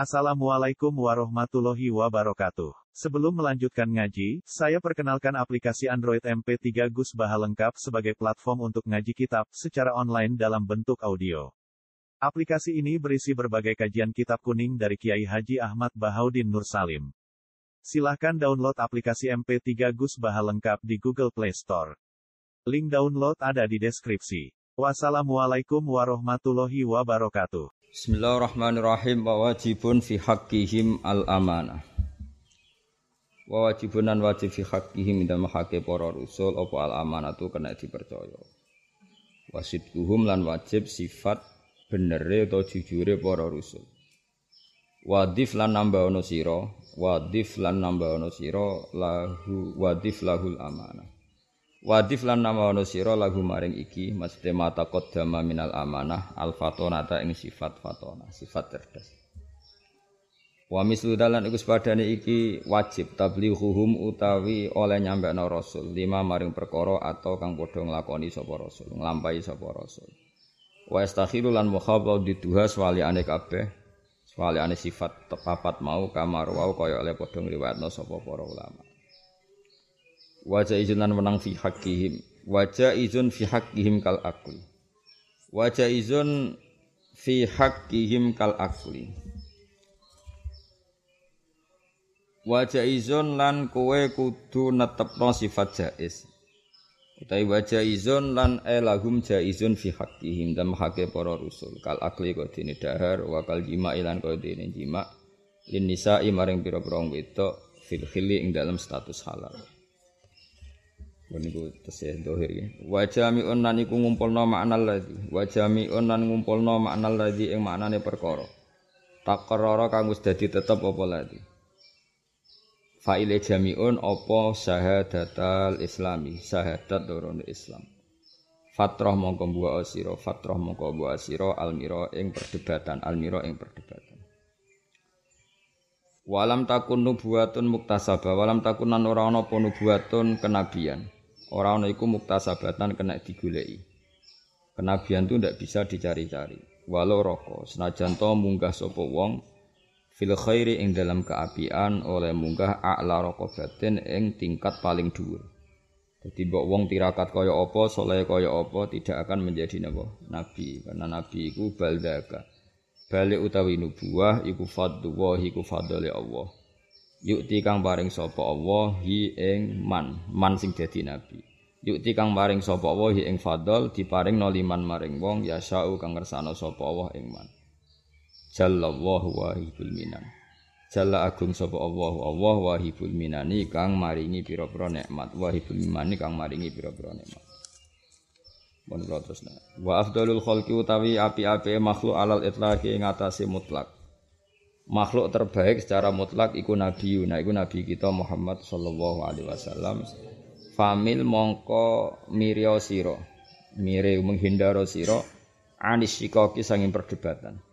Assalamualaikum warahmatullahi wabarakatuh. Sebelum melanjutkan ngaji, saya perkenalkan aplikasi Android MP3 Gus Baha lengkap sebagai platform untuk ngaji kitab secara online dalam bentuk audio. Aplikasi ini berisi berbagai kajian kitab kuning dari Kiai Haji Ahmad Bahaudin Nur Salim. Silahkan download aplikasi MP3 Gus Baha lengkap di Google Play Store. Link download ada di deskripsi. Wassalamualaikum warahmatullahi wabarakatuh. Bismillahirrahmanirrahim. Wa wajibun fi haqqihim al-amanah. Wa wajibun lan wajib fi haqqihim dalam haqqe para rusul apa al-amanatu kena dipercaya. Wasidquhum lan wajib sifat benere atau jujure para rusul. Wadif lan nambah ana sira lahu wadif lahul amanah. Wadif lan nama ono sira lagu maring iki maksudé mata qaddama minal amanah al fatonata ing sifat fatona sifat cerdas. Wa mislu dalan iku sepadane iki wajib tablighuhum utawi oleh nyampekno rasul lima maring perkara atau kang padha nglakoni sapa rasul nglampahi sapa rasul. Wa istakhiru lan mukhabab diduha swaliane kabeh swaliane sifat papat mau kamar wau kaya oleh padha ngriwayatno sapa para ulama. Wajah izun lan menang fi haqqihim. Wajah izun fi haqqihim kal akli. Wajah izun fi haqqihim kal akli. Wajah izun lan kowe kudu netepno sifat jaiz. Utawi wajah izun lan elahum jaizun fi haqqihim dan haqqe para rusul. Kal akli kok dene dahar wa kal jima ilan kok dene jima. Lin nisa'i maring pira-pira wedok fil khili ing dalam status halal. Niku tesih dohir ya. Wa jami'un lan iku ngumpulna maknal ladzi. Wa jami'un lan ngumpulna maknal ladzi ing maknane perkara. Taqarrara kang wis dadi tetep apa ladzi. Fa'ile jami'un apa syahadatal islami, syahadat dorone Islam. Fatrah mongko mbuwa asira almira ing perdebatan, Walam takun nubuwatun muktasabah, walam takun lan ora ana apa nubuwatun kenabian. Ora ana iku muktasabatan kena digoleki. Kenabian itu ndak bisa dicari-cari. Walau roko senajan to munggah sapa wong fil khairi ing dalam keapian oleh munggah a'la raqabatin ing tingkat paling dhuwur. Dadi mbok wong tirakat kaya apa, saleh kaya apa tidak akan menjadi nabi. Karena nabi iku baldaka. Balik utawi nubuwah iku fadluwah iku fadhole Allah. Yukti kang paring sapa Allah hi ing man sing dadi nabi. Yukti kang paring sapa Allah hi ing fadl diparing liman maring wong yasau kang ngersano sapa Allah ing man. Jallallahu wahibul minan. Jalla agung sapa Allah wahibul minani kang maringi pira-pira nikmat. Wahibul minani kang maringi pira-pira nikmat. Mun terusna. Wa afdalul khalqi utawi api-apike makhluk alal itlaqi ing atase mutlak. Makhluk terbaik secara mutlak iku nabiyuna, iku nabi kita Muhammad sallallahu alaihi wasallam. Famil mongko mirya sira, mire menghindaro sira anis sikaki sanging perdebatan.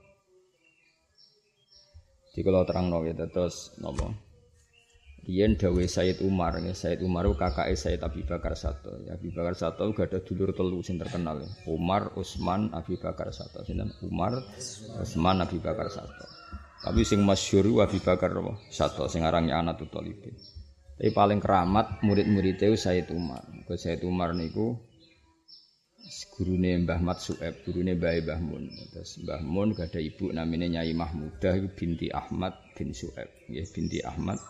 Dikala terangno ya terus napa? Yen dawuh Sayyid Umar, Sayyid Umar kakake Sayyid Abi Bakar Sato. Ya Abi Bakar Sato gak ada dulur telu sing terkenal ya. Umar, Utsman, Abi Bakar Sato. Sinten? Umar, Utsman, Abi Bakar Sato. Tapi sing masyhur Abi Bakar Sato sing arange Anatul Thalibin. Tapi paling keramat murid-muridé Sayyid Umar. Sayyid Umar niku gurune Mbah Mat Su'aib, gurune Mbah Mun. Terus Mbah Mun gak ada ibu namanya Nyai Mahmudah iku binti Ahmad bin Su'aib. Nggih binti Ahmad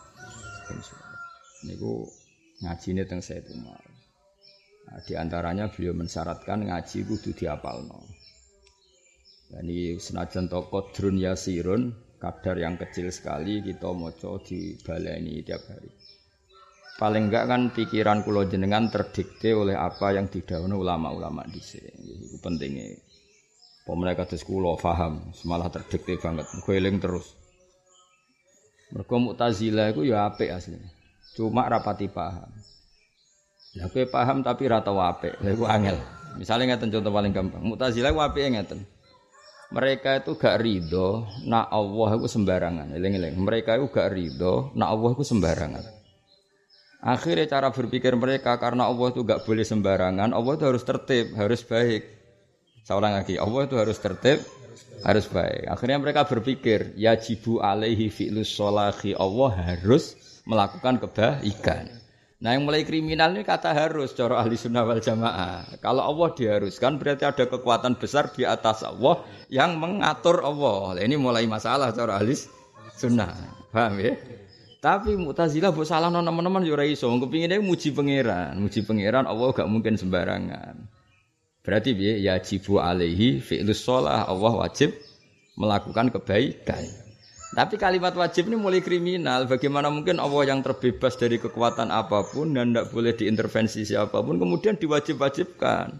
niku ngajine teng Sayyid Umar. Nah, di antaranya beliau mensyaratkan ngaji kudu diapalno. Yani senajan to qadrun yasirun, kadar yang kecil sekali kita maca dibaleni tiap hari. Paling enggak kan pikiran kula jenengan terdikte oleh apa yang didhawuhna ulama-ulama dhisik. Iku pentinge. Pemene kados kula paham, semalah terdikte banget. Muga eling terus. Mergo Mu'tazilah iku ya apik asline. Cuma rapati paham. Lah kowe paham tapi ra tau apik. Lha iku angel. Misale ngeten contoh paling gampang. Mu'tazilah ku apike ngeten. Mereka itu gak ridho nak Allah iku sembarangan. Eling-eling. Mereka itu gak ridho nak Allah iku sembarangan. Akhirnya cara berpikir mereka karena Allah itu gak boleh sembarangan, Allah itu harus tertib, harus baik. Saya ulang lagi, Allah itu harus tertib, harus baik. Akhirnya mereka berpikir, yajibu alaihi fi'lus sholahi, Allah harus melakukan kebaikan. Nah yang mulai kriminal ini kata harus, cara ahli sunnah wal jamaah. Kalau Allah diharuskan berarti ada kekuatan besar di atas Allah yang mengatur Allah. Nah, ini mulai masalah cara ahli sunnah. Paham ya? Tapi Mu'tazilah mbok salahno teman-teman yo ora iso. Kepingine muji pangeran. Muji pangeran Allah gak mungkin sembarangan. Berarti piye? Yajibu alaihi fi'lus shalah, Allah wajib melakukan kebaikan. Tapi kalimat wajib ini mulai kriminal. Bagaimana mungkin Allah yang terbebas dari kekuatan apapun dan tidak boleh diintervensi siapapun kemudian diwajib-wajibkan.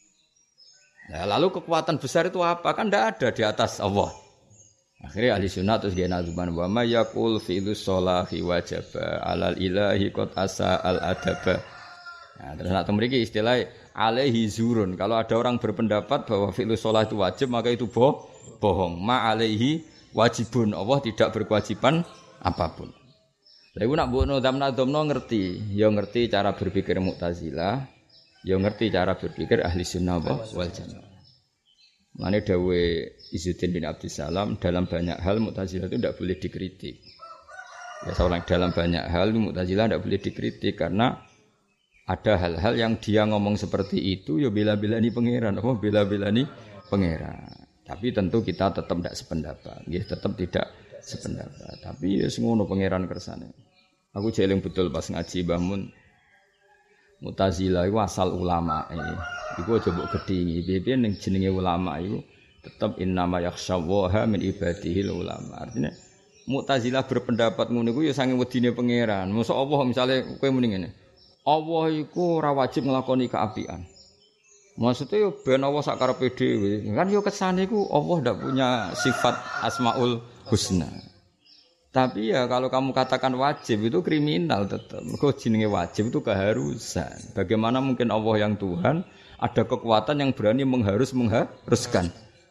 Nah, lalu kekuatan besar itu apa? Kan tidak ada di atas Allah. Akhirnya ahli sunnah terus gaya nazuman wa ma yaqul fi'lus sholahi wajaba alal ilahi qad asa al adaba. Nah, terus nak mriki istilah alaihi zurun. Kalau ada orang berpendapat bahwa fi'lus sholah itu wajib maka itu bohong. Ma alaihi wajibun, Allah tidak berkewajiban apapun. Lha iku nak mbok nadam-nadamno ngerti, ya ngerti cara berpikir Mu'tazilah, ya ngerti cara berpikir ahli sunnah wal jamaah. Mane dawuh Izzuddin bin Abdussalam dalam banyak hal Mu'tazilah itu tidak boleh dikritik. Ya seorang dalam banyak hal Mu'tazilah tidak boleh dikritik karena ada hal-hal yang dia ngomong seperti itu ya bela-belani pangeran, apa bela-belani pangeran. Tapi tentu kita tetap tidak sependapat. Ya, tetap tidak sependapat. Tapi ya ngono pangeran kersane. Aku jeling betul pas ngaji Mbah Mun. Mu'tazilah iku asal ulama. Iku aja mbok gedhingi. Piye-piye ning jenenge ulama iku tetap innama yakhshawaha min ibadihil ulama. Artinya Mu'tazilah berpendapat ngono iku ya sange wedine pangeran. Mosok Allah misale kowe muni ngene. Allah iku ora wajib nglakoni keapian. Maksudnya yo ben Allah sak karepe dhewe. Kan yo kesane iku Allah ndak punya sifat Asmaul Husna. Tapi ya kalau kamu katakan wajib itu kriminal tetap. Mergo jenenge wajib itu keharusan. Bagaimana mungkin Allah yang Tuhan ada kekuatan yang berani mengharuskan.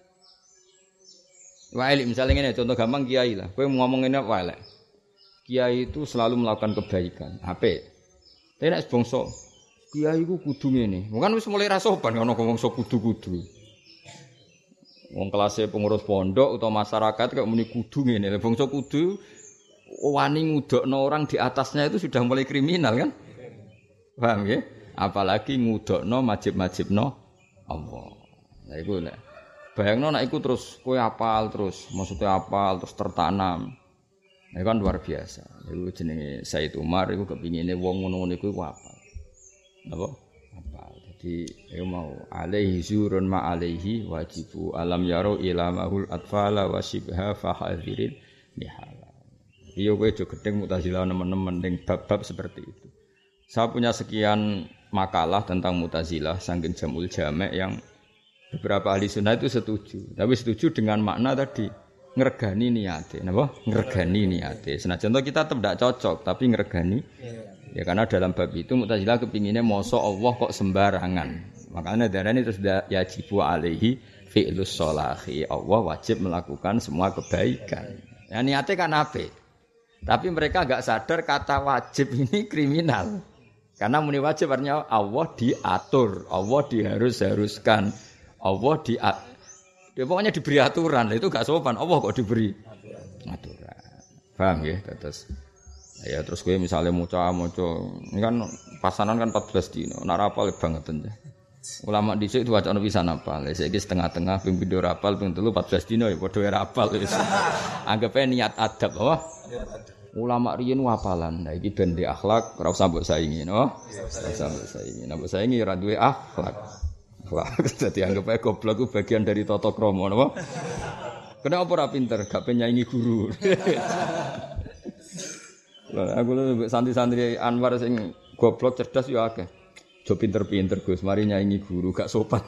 Wae misalnya ngene contoh gampang kiai lah. Kowe ngomong ngene wae lek. Kiai itu selalu melakukan kebaikan. Apik. Tapi nek bangsa kiai ku kudu ngene. Bukan wis mulai ra sopan ana ngomong sok kudu-kudu. Wong kelase pengurus pondok utawa masyarakat kok muni kudu ngene. Lah bangsa kudu wani ngudokno orang di atasnya itu sudah mulai kriminal kan? Paham ya? Apalagi ngudokno majib-majibno Allah. Lah iku nek bayangno nek iku terus kowe apal terus, maksudnya apal terus tertanam. Itu kan luar biasa. Iku jenenge Said Umar iku kepingine wong ngono-ngono iku apal. Apa? Jadi mau alaihi zurun ma alaihi wajibu alam yaro ilamahul atfala wasibha fahadhirin nihala. Iya kowe aja gedeng Mu'tazilah nemen-nemen ning bab-bab seperti itu. Saya punya sekian makalah tentang Mu'tazilah saking Jamul Jami' yang beberapa ahli sunnah itu setuju. Tapi setuju dengan makna tadi ngregani niate, napa? Ngregani niate. Senajan kita tetap tidak cocok tapi ngregani. Ya karena dalam bab itu Mu'tazilah kepinginnya mosok Allah kok sembarangan. Makanya darane terus yajibu alaihi fi'lus sholahi. Allah wajib melakukan semua kebaikan. Ya niatnya kan apik. Tapi mereka enggak sadar kata wajib ini kriminal. Karena muni wajib artinya Allah diatur, Allah diharuskan. Allah pokoknya diberi aturan. Itu enggak sopan. Allah kok diberi aturan. Paham ya? Ya terus gue misalnya moco ini kan pasanan kan 14 dino nak rapal banget aja. Ulama dhisik itu wacana pisan apal. Saiki setengah-tengah ping pindho rapal ping 3 14 dino ya padha rapal wis. Anggape niat adab apa? Ulama riyen wapalan. Nah iki ben di akhlak ora usah mbok saingi no. Ora usah mbok saingi. Nek mbok saingi ora duwe akhlak. Akhlak dadi anggape goblok ku bagian dari tata krama napa? Kenapa ora pinter gak penyaingi guru. Aku lho santri-santri Anwar sing goblok cerdas yo akeh. Jo pinter-pinter Gus, mari nyaingi guru gak sopan.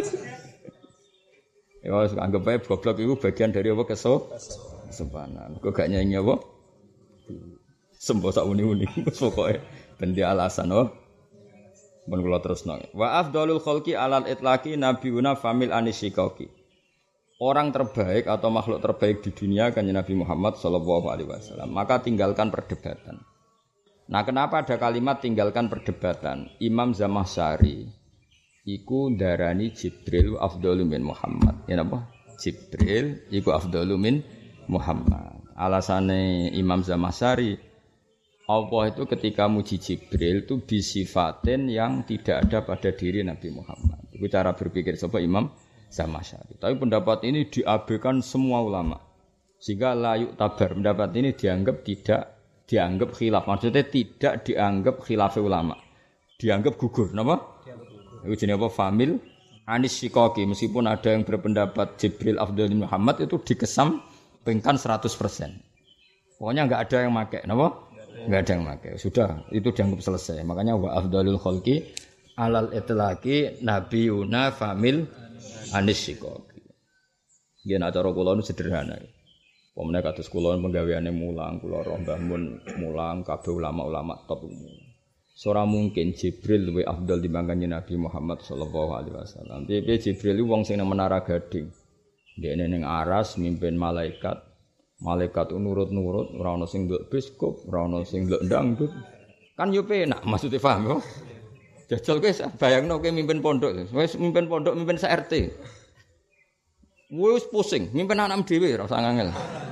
Ya wis anggap ae goblok iku bagian dari apa kesopanan. Kok gak nyaingi apa? Sembo sak uni-uni pokoke ben di alasan oh. Ben kula terusno. Wa afdalul khalqi alal itlaqi nabiyuna famil anisyikaki. Orang terbaik atau makhluk terbaik di dunia kan Nabi Muhammad SAW. Maka tinggalkan perdebatan. Nah kenapa ada kalimat tinggalkan perdebatan? Imam Zamakhsyari iku darani Jibril afdalu min Muhammad. Ya napa? Jibril iku afdalu min Muhammad. Alasane Imam Zamakhsyari Allah itu ketika muji Jibril itu bisifatin yang tidak ada pada diri Nabi Muhammad. Itu cara berpikir sapa Imam Zamakhsyari. Tapi pendapat ini diabaikan semua ulama. Sehingga layuk tabar pendapat ini tidak dianggap khilaf. Maksudnya tidak dianggap khilaf ulama. Dianggap gugur, napa? Itu jenenge apa? Famil Anis Syikoki. Meskipun ada yang berpendapat Jibril afdalul Muhammad itu dikesampingkan 100%. Pokoknya enggak ada yang pakai, napa? Enggak ada yang pakai. Sudah, itu dianggap selesai. Makanya wa afdalul khalqi alal itlaqi nabiyuna famil Anis Syikoki. Yen acara kula nu sederhana. Pemene kados kula penggaweane mulang, kula roh Mbah Mun mulang, kabeh ulama-ulama top umum. Ora mungkin Jibril luwih afdal dibanding Nabi Muhammad sallallahu alaihi wasallam. Piye Jibril wong sing nang Menara Gading. Dekne ning aras mimpin malaikat. Malaikat nurut-nurut, ora ana sing nduk biskop, ora ana sing nduk dangdut. Kan yo penak, maksudnya paham yo. Jajal kowe bayangno kowe mimpin pondok, wis mimpin pondok, mimpin RT. Wis pusing, mimpin anak dhewe ora usah ngangel.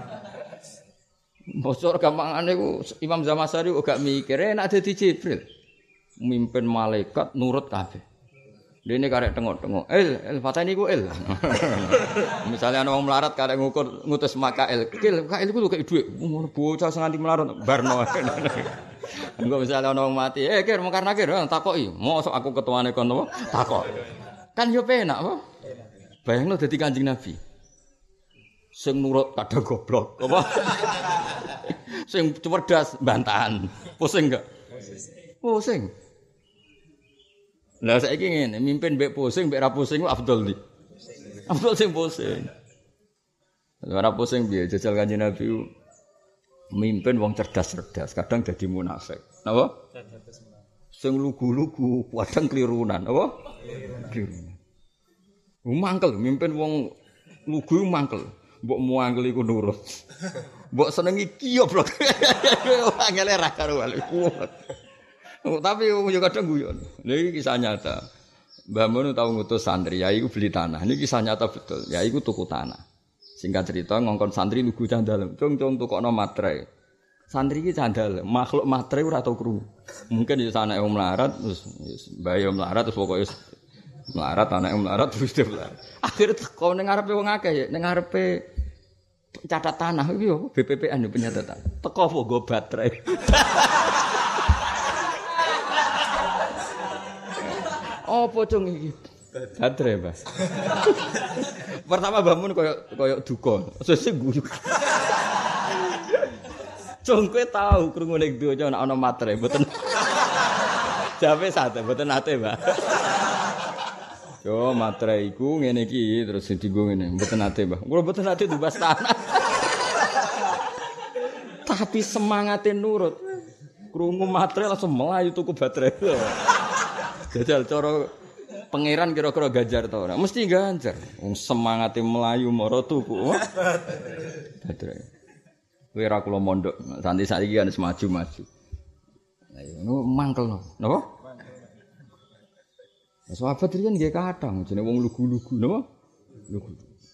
Bosor gampangane ku Imam Zamakhsyari gak mikir enak dadi Jibril. Mimpin malaikat nurut kabeh. Dene karek tengok-tengok. Fatani ku il. Misalnya ana wong melarat karek ngutus makail. Kail ku kok dhuwit. Bocah nganti melarat barno. Engko misalnya ana wong mati, kir mungkar nakir takoki. Mosok aku ketuane kon apa? Takok. Kan yo penak apa? Bayangno dadi Kanjeng Nabi. Sing nurut kadang goblok, apa? Sing cerdas bantahan. Pusing enggak? Pusing. Lah saiki ngene, mimpin mbek pusing, mbek ra pusing ku afdol ndi? Afdol sing pusing. Ora pusing piye jajal Kanjeng Nabi mimpin wong cerdas-cerdas, kadang dadi munafik. Napa? Sing lugu-lugu, kadang klirunan, apa? Klirunan. Mangkel mimpin wong lugu mangkel. Mbok muangkel iku nurut. Mbok senengi kiyoblok. Angele ra karo wale kuat. Tapi yo kadang guyon. Lha iki kisah nyata. Mbah Mun tau ngutus santri, ya iku beli tanah. Ini kisah nyata betul. Ya iku tuku tanah. Singkat cerita ngongkon santri lugu cah dalem. Cung tukokno matre. Santri iki cah dalem, makhluk matre ora tau krungu. Mungkin yo sanake wong melarat terus mbah yo melarat terus pokoke melarat anake melarat terus dia melarat. Akhire teko ning ngarepe wong akeh ya, ning ngarepe catat tanah iki yo BPPN yo penyatatan. Teko apa go baterai. Apa cung iki? Baterai, Mas. Pertama bangun koyo duka. Sesuk guyu. Cung kowe tau krungu ning donya ana materai mboten. Jawe sate mboten ate, Mbak. Yo materai iku ngene iki terus dienggo ngene, mboten ate, Mbah. Kula mboten ate dibas tanah. Tapi semangate nurut. Krungu materai langsung melayu tuku baterai. Jajal cara pangeran kira-kira ganjar ta ora? Mesti ganjar. Wong semangate melayu mara tuku. Baterai. Kowe ora kula mondok, santi saiki kan semaju-maju. Lah ngono mangkel no. Napa? Sahabat riyen nggih kadang jenenge wong lugu-lugu napa? Lugu.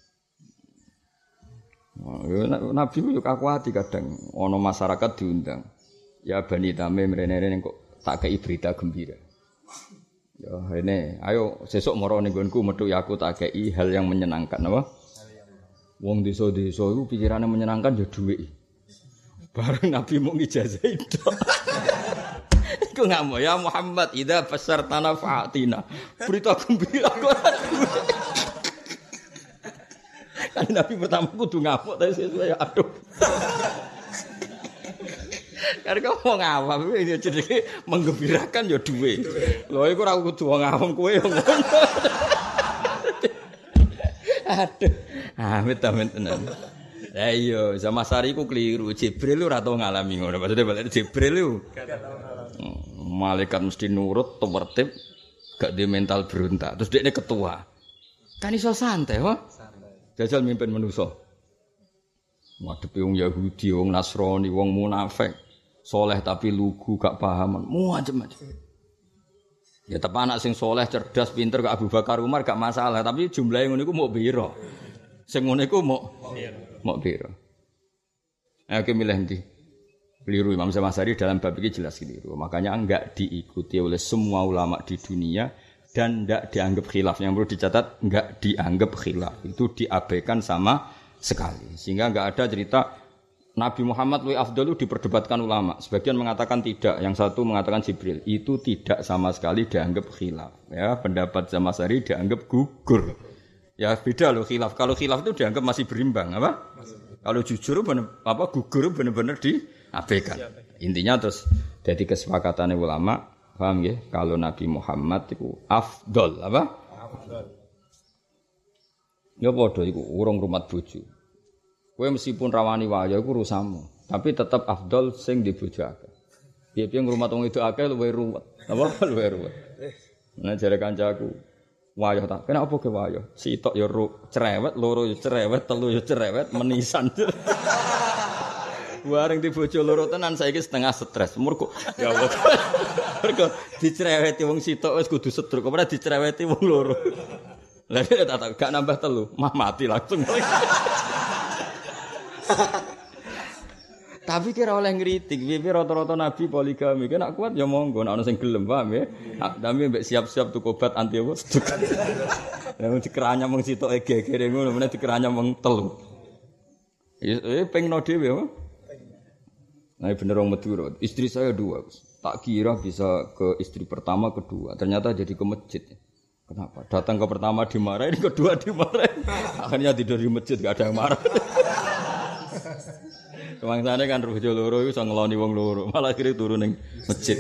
Nabi yo kakuati kadang ana masyarakat diundang. Ya Bani Tamim rene-rene kok tak kei berita gembira. Ya rene, ayo sesuk mara ning nggonku metu ya aku tak kei hal yang menyenangkan napa? Wong desa-desa iku pikirane menyenangkan ya dhuwit. Bareng Nabi mau ngijazah itu. Iku ngamuk ya Muhammad idza fasartana fa'atina. Berita gembira kok. Kan Nabi pertama kudu ngamuk tapi saya aduh. Karena kau ngawam ini jenenge menggembirakan ya duwe. Lho iku ora kudu wong awam kowe ngono. Aduh. Amit-amit tenan. Lah iya, Zamakhsyari ku keliru. Jibril ora tau ngalami ngono. Maksudnya balik Jibril iku. Malaikat mesti nurut, tertib, gak di mental berontak. Terus dekne ketua. Kan iso santai, ho? Jajal mimpin manusa. Ngadepi wong Yahudi, wong Nasrani, wong munafik. Soleh tapi lugu, gak paham. Macam-macam. Ya tepan anak sing soleh, cerdas, pinter, gak Abu Bakar Umar gak masalah. Tapi jumlahnya ngono iku mau piro? Sing ngono iku mok piro. Oke milih ndi? Keliru Imam Syafi'i dalam bab ini jelas keliru. Makanya enggak diikuti oleh semua ulama di dunia dan enggak dianggap khilaf. Yang perlu dicatat enggak dianggap khilaf. Itu diabaikan sama sekali. Sehingga enggak ada cerita Nabi Muhammad luwih afdalu diperdebatkan ulama. Sebagian mengatakan tidak, yang satu mengatakan Jibril. Itu tidak sama sekali dianggap khilaf. Ya, pendapat Syafi'i dianggap gugur. Ya beda loh khilaf. Kalau khilaf itu dianggap masih berimbang, apa? Kalau jujur gugur benar-benar diabaikan. Intinya terus jadi kesepakatan ulama, paham ya? Kalau Nabi Muhammad itu afdol, apa? Afdol. Ya padha iku urung rumat bojo. Kowe meskipun rawani waya iku urusanmu, tapi tetap afdol sing di bojo akeh. Piye-piye ngrumat wong itu akeh luwih ruwet. Apa luwih ruwet? Nah jare kancaku, wayah tak. Kena apa ke wayah? Sitok ya cerewet, loro ya cerewet, telu ya cerewet, menisan. Bareng di bojo loro tenan saiki setengah stres. Mergo ya Allah. Mergo dicereweti wong sitok wis kudu sedruk, ora dicereweti wong loro. Lah dia tak gak nambah telu, mah mati langsung. Tapi kira oleh ngritik, piye rata-rata nabi poligami. Kena kuat ya monggo, nek ana sing gelem, paham ya. Tapi mbek siap-siap tuku obat anti apa seduk. Lah dikeranya mung sitoke gegere ngono, meneh dikeranya mung telu. Pengno dhewe apa? Nah bener wong Madura. Istri saya 2. Tak kira bisa ke istri pertama, kedua. Ternyata jadi ke masjid. Kenapa? Datang ke pertama dimarahin, kedua dimarahin. Akhirnya tidur di masjid, gak ada yang marah. Kemangsane kan bojo loro iku iso ngeloni wong loro, malah akhire turu ning masjid.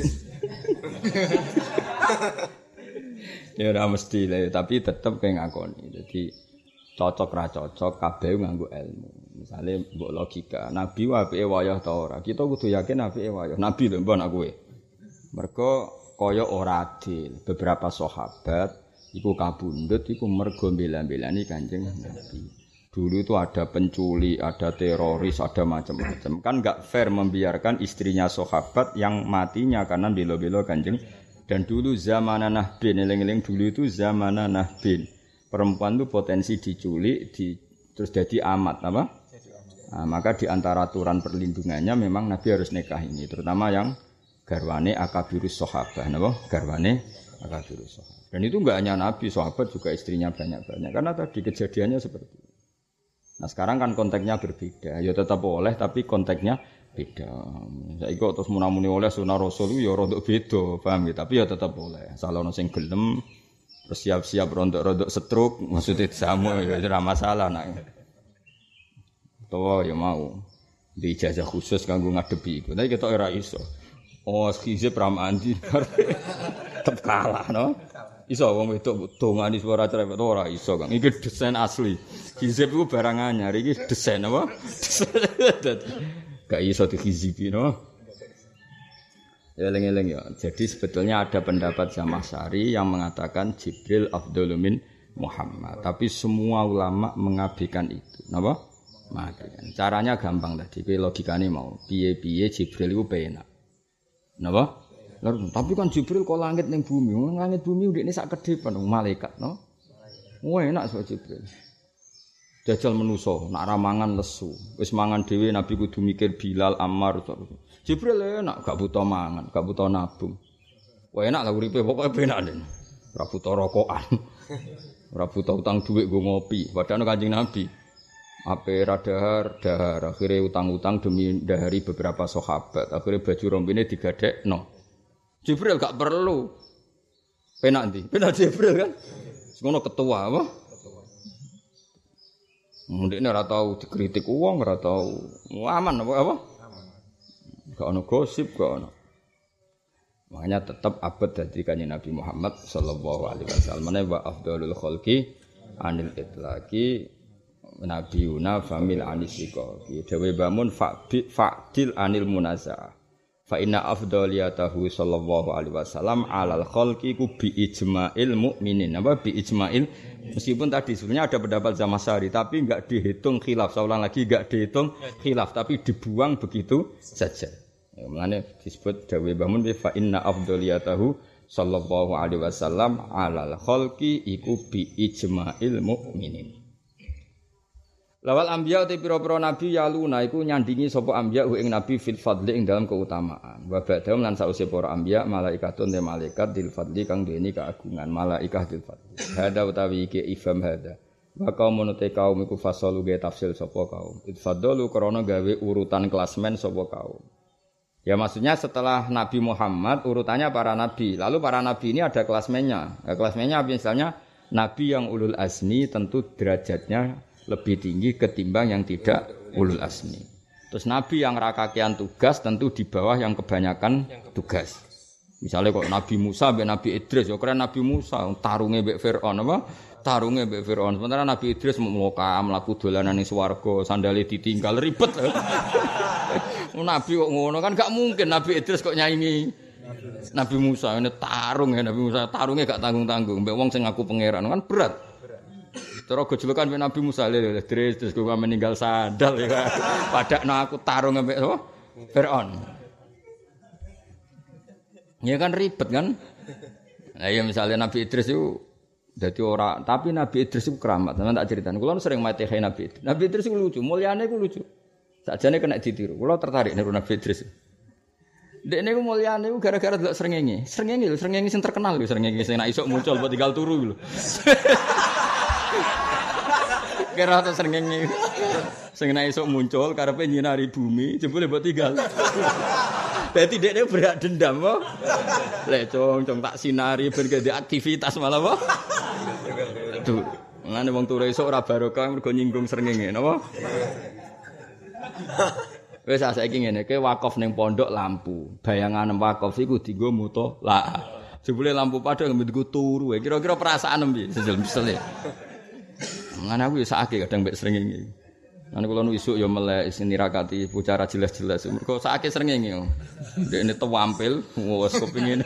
Ya ora mesti lah, tapi tetep kayak ngakoni. Jadi cocok ra cocok kabeh nganggo ilmu. Misale mbok logika, nabi apike wayah ta ora? Kita kudu yakin apike wayah. Nabi lho mbon aku kowe. Mergo kaya ora adil. Beberapa sahabat iku kabundut iku mergo bela-belani Kanjeng Nabi. Dulu itu ada penculik, ada teroris, ada macam-macam. Kan enggak fair membiarkan istrinya sahabat yang matinya karena bela-bela Kanjeng. Dan dulu zamanan Nahbin, eling-eling dulu itu zamanan Nahbin. Perempuan itu potensi diculik, terus jadi amat, apa? Nah, maka di antara aturan perlindungannya memang Nabi harus nikah ini, terutama yang garwane akabirus sahabah, napa? Garwane akabirus sahabah. Dan itu enggak hanya Nabi, sahabat juga istrinya banyak-banyak. Karena tadi kejadiannya seperti itu. Nah sekarang kan konteksnya berbeda. Ya tetap boleh tapi konteksnya beda. Saiki kok terus munamuni oleh sunah Rasul ya rodok beda, paham ya? Tapi ya tetap boleh. Asal ono sing gelem terus siap-siap rodok-rodok stroke, maksudnya sama ya ora masalah nak. Tuwa ya mau. Di ijazah khusus kanggo ngadepi iku. Tapi ketok ora iso. Oh, skizip ramandi. Tetep kalah no. Iso wong wedok dongani suara cerewet ora iso, Kang. Iki desain asli. Hizib iku barang anyar, iki desain apa? Gak iso dihizibi no. Ya eling-eling ya. Jadi sebetulnya ada pendapat Zamakhsyari yang mengatakan Jibril afdhalu min Muhammad. Tapi semua ulama mengabaikan itu. Napa? Mengabaikan. Caranya gampang tadi, kowe logikane mau. Piye-piye Jibril iku penak. Napa? Lalu, tapi kan Jibril kok langit ning bumi. Langit bumi ndekne sak kedepan malaikat, no. Wah, enak so Jibril. Jajal menuso, nak ramangan lesu. Wis mangan dhewe Nabi kudu mikir Bilal, Ammar. Jibril enak, gak butuh mangan, gak butuh nabung. Wah, enak lah uripe, pokoke penak den. Ora butuh rokokan. Ora butuh utang dhuwit go ngopi. Padahal Kanjeng Nabi ape dahar, akhirnya utang-utang demi dahari beberapa sahabat. Akhirnya baju rombine digadekno. Jibril gak perlu. Penak ndi? Penak Jibril kan? Ngono ketua apa? Ndekne ora tau dikritik wong, ora tau aman apa? Aman. Gak ono gosip, gak ono. Makanya tetap abad dadi Kanjeng Nabi Muhammad sallallahu alaihi wasallam. Wa afdhalul khalqi anil itlaqi nabiyuna famil anisika. Dewe bangun fa'dil anil munazah. Fa inna afdhaliyatahu sallallahu alaihi wasallam alal khalqi ku bi ijma'il mukminin. Apa bi ijma'il? Meskipun tadi sebenarnya ada pendapat Zamakhsyari tapi enggak dihitung khilaf. Saya ulang lagi enggak dihitung khilaf tapi dibuang begitu saja. Ya, makanya disebut dawe Mbah fa inna afdhaliyatahu sallallahu alaihi wasallam alal khalqi iku bi ijma'il mukminin. Lawal anbiya te pira-pira nabi yaluna iku nyandingi sapa anbiya ing nabi fil fadli ing dalam keutamaan. Wa ba'dahum lan sause para anbiya malaikatun te malaikat dil fadli kang duweni keagungan malaikah dil fadli. Hada utawi iki ifham hada. Wa kaumun te kaum iku fasalu ge tafsil sapa kaum. Itfadalu krana gawe urutan klasmen sapa kaum. Ya maksudnya setelah Nabi Muhammad urutannya para nabi. Lalu para nabi ini ada klasmennya. Klasmennya misalnya nabi yang ulul azmi tentu derajatnya lebih tinggi ketimbang yang tidak ulul azmi. Terus nabi yang rakakian tugas tentu di bawah yang kebanyakan tugas. Misalnya kok Nabi Musa mbek Nabi Idris, ya keren Nabi Musa tarunge mbek Firaun apa? Tarunge mbek Firaun. Sementara Nabi Idris mlaku dolanan ning swarga, sandale ditinggal ribet. Nabi kok ngono kan gak mungkin Nabi Idris kok nyaingi Nabi Musa. Ini tarung ya Nabi Musa, tarunge gak tanggung-tanggung mbek wong sing ngaku pangeran kan berat. Terus gejolokan mbek Nabi Musa lho terus kok meninggal sandal ya. Padakno aku tarung mbek Firaun. Ya kan ribet kan? Nah ya misalnya Nabi Idris itu dadi ora, tapi Nabi Idris itu keramat. Sampeyan tak critani. Kula sering mate Nabi Idris. Nabi Idris itu lucu, mulyane iku lucu. Sakjane kena ditiru. Kula tertarik niru Nabi Idris. Dek niku mulyane iku gara-gara delok srengenge. Srengenge lho, srengenge sing terkenal lho, srengenge sing nek isuk muncul mbok tinggal turu lho. Kira ta srengenge. Sing nek isuk muncul karepe nyinari bumi, jebule mbok tinggal. Dadi dekne berak dendam apa? Lek cong tak sinari ben gede aktivitas malah apa? Tuh, ngene wong turu esuk ora barokah mergo nyinggung srengenge, napa? Wis saiki ngene, ke wakaf ning pondok lampu. Bayangan wakaf iku dienggo mutolak. Jebule lampu padha nggo turu. Kira-kira perasaan piye? Sesel-sesel. Ngene aku ya sakake kadang mbek srengenge. Lan kula nu isuk ya melek sing nirakati bicara jelas-jelas. Mergo sakake srengenge. Dekne tampil wis kepengin.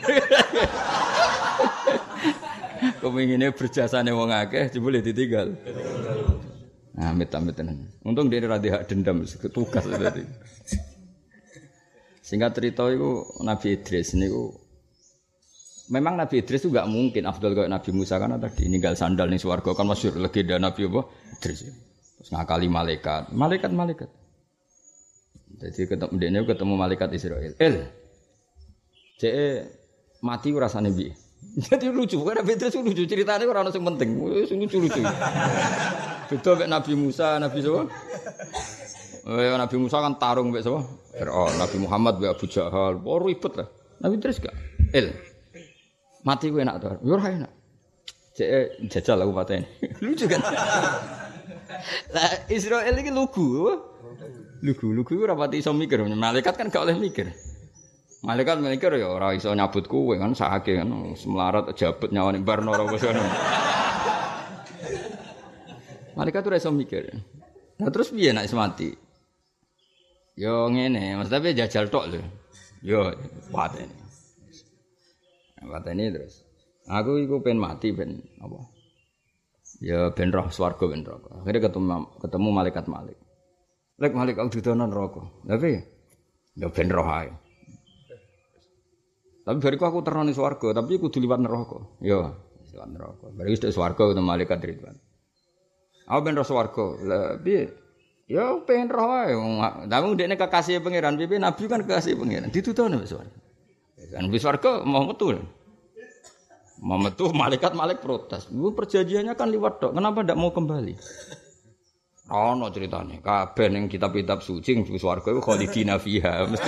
Kepengine berjasane wong akeh jebule ditinggal. Nah, amit-amit tenan. Untung dia ora hak dendam tugas tadi. Singkat cerita iku Nabi Idris niku memang Nabi Idris itu enggak mungkin afdal kayak Nabi Musa kan tadi ninggal sandal ning swarga kan masyhur legenda Nabi apa Idris. Terus ngakali malaikat. Jadi ketemu malaikat Israel. Cek mati rasane piye? Jadi lucu, kan Nabi Idris lucu ceritanya ora ono sing penting. Lucu-lucu. Beda mek Nabi Musa, Nabi sapa? Nabi Musa kan tarung mek sapa? Firaun, Nabi Muhammad mek Abu Jahal. Oh ribet lah. Nabi Idris gak? Mati ku enak to. Yo ora enak. Cek jajal aku pateni. Lucu kan? Lah Israel iki lugu. Lugu ora pati iso mikir. Malaikat kan gak oleh mikir. Malaikat mikir ya ora iso nyabut kowe kan sakake kan semlarat jabut nyawane barno ora wis ngono. Malaikat ora iso mikir. Nah terus piye nek mati? Yo ngene, maksudnya jajal tok lho. Yo pateni. Pateni terus. Aku iku pengen mati ben apa? Ya ben roh swarga ben neraka. Akhire ketemu malaikat Malik. Lek Malik aku didono neraka. Lha piye? Ya ben roh ae. Tapi bariku aku terno ning swarga, tapi kudu liwat neraka. Ya, liwat neraka. Bari wis swarga ketemu malaikat Ridwan. Aku ben roh swarga. Lah piye? Ya pengen roh ae. Tapi ndekne kekasih pangeran, piye nabi kan kekasih pangeran. Ditutono wis swarga. Kan wis swarga mau metu. Mau metu malaikat protes. Lu perjanjiannya kan liwat tok. Kenapa ndak mau kembali? Ono ceritane. Kabeh ning kitab-kitab suci ning swarga iku khalidina fiha. Mesti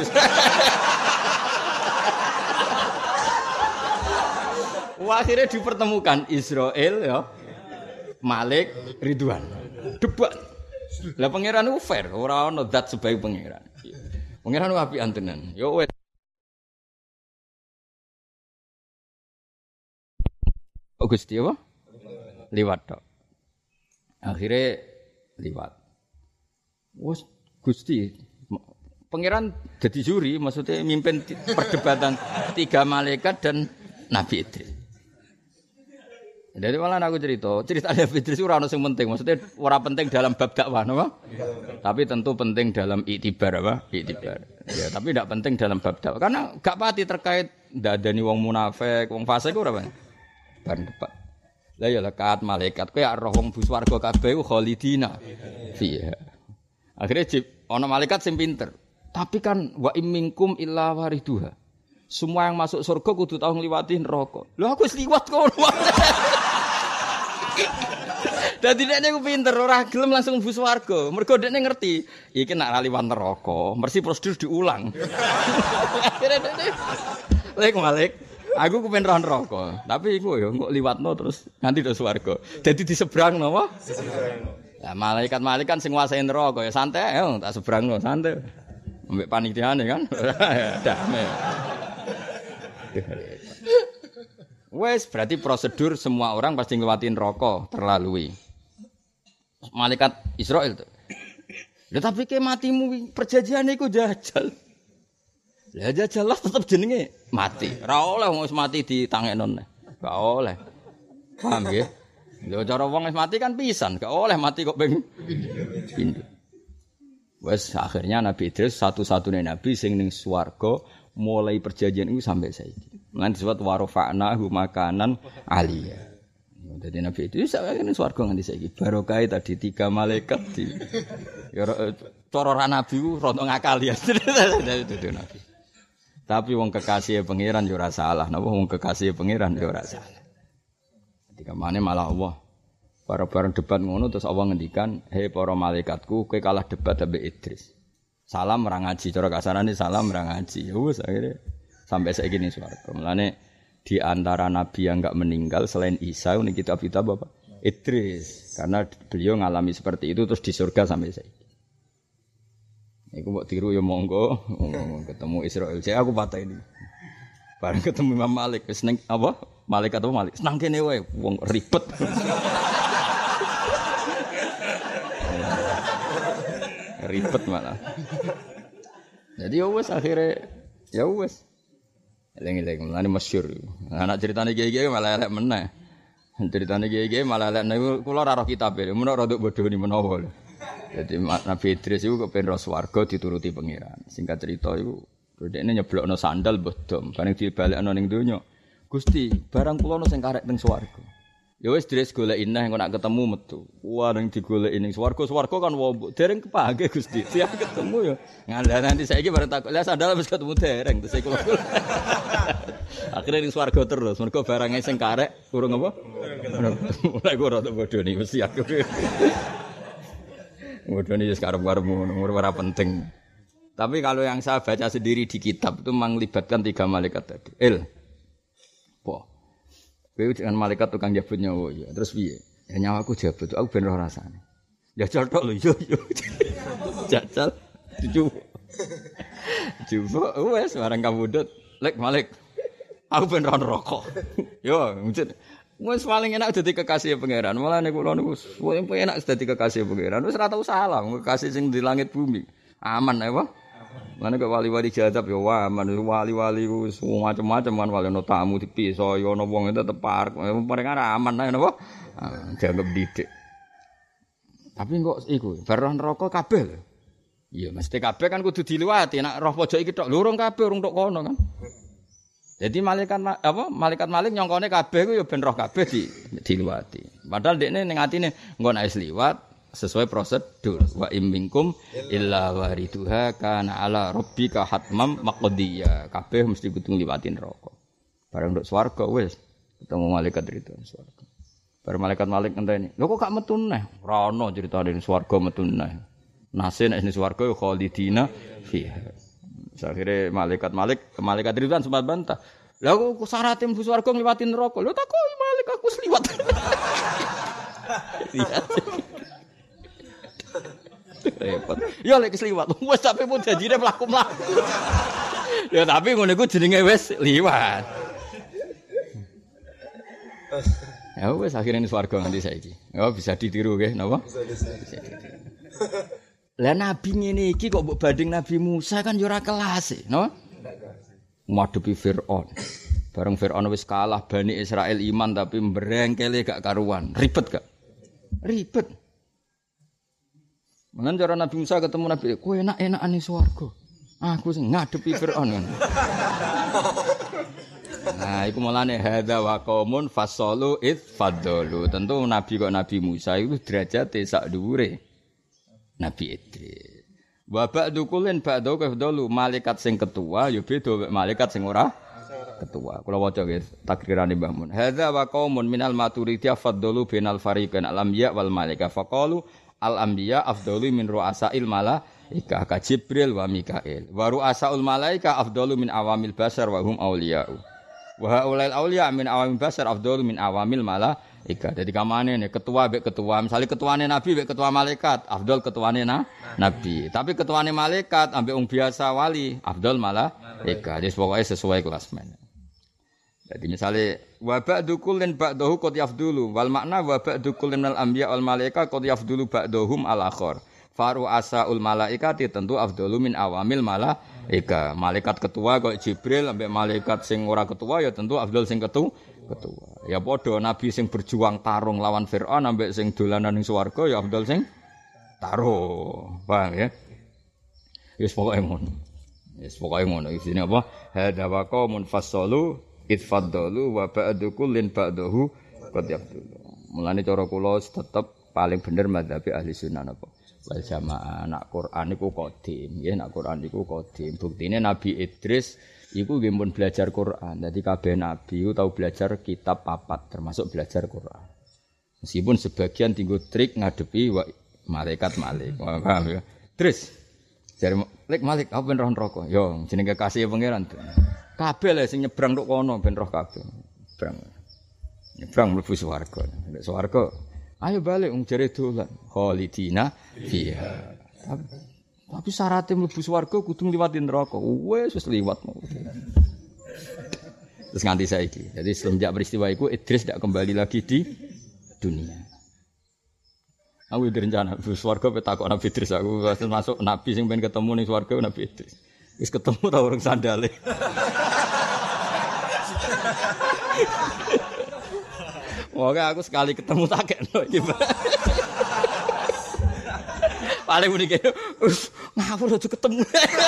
akhirnya dipertemukan Israel ya, Malik, Ridwan, debat. Lah pangeran itu fair, ora ono zat sebaik pangeran. Pangeran itu apik antenan. Yo wes. Gusti apa? Liwat tok. Akhirnya liwat. Wes Gusti pangeran jadi juri, maksudnya mimpin perdebatan 3 malaikat dan Nabi Idris. Jadi malah aku cerita Nabi Idris ora ono sing penting, maksudnya ora penting dalam bab dakwah, napa? Tapi tentu penting dalam iktibar apa? Iktibar. Ya, tapi tidak penting dalam bab dakwah karena gak pati terkait ndadani wong munafik, wong fasik ora apa. Ban debat. Lah ya lekat malaikat kowe roh wong bu swarga kabeh ku khalidina fiha. Akhire ana malaikat sing pinter. Tapi kan wa imminkum illa wariduha. Semua yang masuk surga kudu tau ngliwati neraka. Lho aku wis liwat kono. Dadi dekne ku pinter ora gelem langsung mlebu swarga. Mergo dekne ngerti, iki nek liwat neraka, mesti prosedur diulang. Akhire dekne Malik, aku kepen roh neraka, tapi iku ya kok liwatno terus nganti do swarga. Dadi disebrang napa? Lah malaikat kan sing nguasai neraka ya santai ya tak sebrangno santai. Ambek panitiane kan. Damai. Wes berarti prosedur semua orang pasti nglewatin neraka terlalui. Malaikat Israil tuh. Lha tapi ke matimu perjanjian iku jajal. Lah jajal lah tetep jenenge mati. Ora oleh wong wis mati ditangekno. Gak oleh. Paham nggih? Lho cara wong wis mati kan pisan, gak oleh mati kok ping pindho. Wes akhirnya Nabi Idris satu-satunya nabi sing ning swarga mulai perjanjian itu sampai saiki. Lan disebut warofa'nahu makanan aliyah. Dadi Nabi itu sakjane swarga nganti saiki. Barokah tadi 3 malaikat di ya cara ra nabi ku rada ngakali ya. Dadi Nabi. Tapi wong kekasih pangeran yo ora salah. Napa wong kekasih pangeran yo ora salah. Ketika mana malah Allah bareng-bareng debat ngono terus Allah ngendikan, "Hei para malaikatku, kowe kalah debat ambek Idris." Salam ora ngaji, cara kasarane salam ora ngaji. Ya wis akhire sampai saiki ning swarga. Mulane di antara nabi yang enggak meninggal selain Isa ini kitab-kitab apa? Idris. Karena beliau ngalami seperti itu terus di surga sampai saiki. Iku mbok tiru ya monggo, ketemu Israil. Saya aku patah ini. Bareng ketemu Imam Malik wis ning apa? Malaikat apa Malik? Senang kene wae, wong ribet. Ribet malah. Jadi ya wis akhire ya wis. Eleng-eleng mulane masyhur. Anak ceritane kiye-kiye malah elek meneh. Ceritane kiye-kiye malah elek niku kula ora roh kitabe, menawa rada bodhoni menawa. Jadi Nabi Idris iku kepen roh swarga dituruti pangeran. Singkat cerita iku dhekne nyeblokno sandal mbah dom, bareng dibalekno ning donya. Gusti, barang kula ono sing karek teng swarga. Ya wis Idris goleki neh engko nak ketemu metu. Wah ning digoleki ning swarga kan wombok dereng kepake Gusti. Siap ketemu ya. Ngandha nanti saiki bareng takok, "Lah sandal wis ketemu dereng." Terus iku akhirnya ning swarga terus. Mergo barange sing karek urung apa? Mulai ora tak bodoni mesti aku. Bodoni wis karep-karepmu ora penting. Tapi kalau yang saya baca sendiri di kitab itu melibatkan 3 malaikat tadi. Kowe dengan malaikat tukang jabut nyawa ya. Terus piye? Ya nyawaku jabut, aku ben roh rasane. Ya cotok lho yo. Jajal coba wes barang kabudut. Lek Malik. Aku ben roh neraka. Yo, mujud. Wes paling enak dadi kekasih pangeran. Malah nek kula niku paling enak dadi kekasih pangeran. Wis ora tau salah, kekasih sing di langit bumi. Aman apa? Mana kok wali-wali jadab ya wah, wali-wali ku macam-macam kan wali ono tamu dipiso ya ono wong tetep parek. Mereka aman ae napa? Dianggap didik. Tapi kok iku bar neraka kabeh lho. Iya mesti kabeh kan kudu diliwati. Nek roh pojok iki tok lurung kabeh urung tok kono kan. Jadi malaikat Malik nyongkone kabeh ku ya ben roh kabeh diliwati. Padahal dekne ning atine engko nek wis liwat sesuai prosedur wa imminkum illa wariduha kana ala rabbika hatmam maqdiya kabeh mesti kudu ngliwati neraka bareng nduk swarga wis ketemu malaikat itu swarga bareng malaikat Malik ngenteni lho kok gak metu neh ora ono critane swarga metu neh nase nek ning swarga ya khalidina fiha akhire malaikat itu kan sempat bantah lha kok syaratnya mlebu swarga ngliwati neraka lho takoki Malik aku wis liwat repot. Ya lek kesliwat. Wes sampe pun janjine mlaku-mlaku. Ya tapi ngono iku jenenge wis liwat. Ya wis akhire ning swarga nganti saiki. Ya bisa ditiru nggih napa? Bisa ditiru. Lah nabi ngene iki kok mbok banding Nabi Musa kan ya ora kelas e, napa? Ngadepi Firaun. Bareng Firaun wis kalah Bani Israil iman tapi mbrengkele gak karuan. Ribet gak? Ribet. Mengen cara Nabi Musa ketemu Nabi, kowe enak-enakan ning swarga. Aku sing ngadepi Firaun kan. Nah, iku mulane hadza wa qaumun fasalu id faddalu. Tentu nabi kok Nabi Musa itu derajate sak dhuwure Nabi Idris. Wa ba'du kullin ba'du kafdalu malaikat sing ketua ya beda malaikat sing ora ketua. Kula waca nggih takrirane Mbah Mun. Hadza wa qaumun minal maturidiyah faddalu bainal fariqain al-anbiya wal malaika faqalu al-anbiya afdalu min ru'asail malaika ka Jibril wa Mikail. Wa ru'asaul malaika afdalu min awamil basar wa hum auliya'u. Wa haulail auliya min awamil basar afdalu min awamil malaika. Dadi kamane nek ketua mbek ketua, misale ketuane nabi mbek ketua malaikat, afdal ketuane nabi. Tapi ketuane malaikat ambek wong biasa wali, afdal malaika. Jadi pokoke sesuai kelas men. Jadi misalnya wa ba'du kullin ba'dahu qad yafdulu wal makna wa ba'du kullin al anbiya wal malaika qad yafdulu ba'dahum al akhar. Faru asaul malaikati tentu afdalu min awamil malaika. Malaikat ketua kok Jibril ambek malaikat sing ora ketua ya tentu afdal sing ketua. Ya padha nabi sing berjuang tarung lawan Firaun ambek sing dolanan ning swarga ya afdal sing tarung. Paham ya? Wis pokoke ngono. Wis pokoke ngono. Isine apa? Hadza wa qaumun fasalu itfaddalu wa ba'du kullin ba'dahu qad yafdulu. Mulane cara kula tetep paling bener madzhab ahli sunnah napa wal jamaah. Nak Quran iku qadim, nggih nak Quran iku qadim. Buktine Nabi Idris iku nggih pun belajar Quran. Dadi kabeh nabi iku tau belajar kitab papat termasuk belajar Quran. Meskipun sebagian tinggo trik ngadepi malaikat Malik. Paham ya? Idris jare Malik apa ben roh neraka? Yo jenenge kekasih pangeran. Kabeh lho sing nyebrang tok kono ben roh kabeh. Nyebrang mlebu swarga. Nek swarga, ayo balik wong jare dolan. Khalidina fiha. Tapi syaratnya mlebu swarga kudu ngliwati neraka. Wis liwat. Terus nganti saiki. Jadi semenjak peristiwa itu Idris tidak kembali lagi di dunia. Aku direncana mlebu swarga petakok Nabi Idris aku masuk nabi sing pengen ketemu ning swarga Nabi Idris. Wis ketemu ta urung sandale. Oke, aku sekali ketemu tak kena iki. Paling muni kene, ngawur aja ketemu.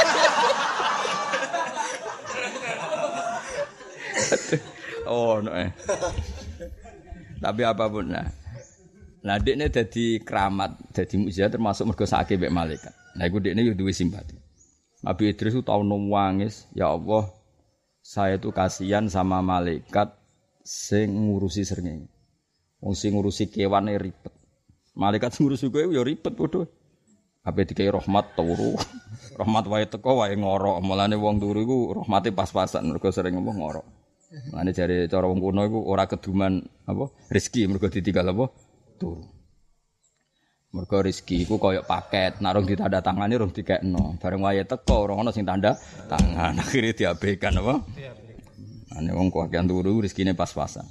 Oh, no. Tapi apapun lah. Lah dekne dadi keramat, dadi mukjizat termasuk mergo sakake mbek malaikat. Nah iku dekne yo duwe simpati. Nabi Idris itu tahu nangis, ya Allah, saya itu kasihan sama malaikat sing ngurusi srengenge. Wong sing ngurusi kewane ribet. Malaikat sing ngurusi kowe ya ribet padha. Ape dikai rahmat turu. Rahmat wae teko wae ngorok. Mulane wong turu iku rahmate pas-pasan mergo sering ngorok. Mulane jare cara wong kuno iku ora keduman apa rezeki mergo ditinggal apa turu. Mergo rezeki iku kaya paket, nek rong ditanda tangane rong dikekno. Bareng wae teko ora ono sing tanda tangan, akhire diabaikan apa? Ane wong kakean turu rezekine pas-pasan.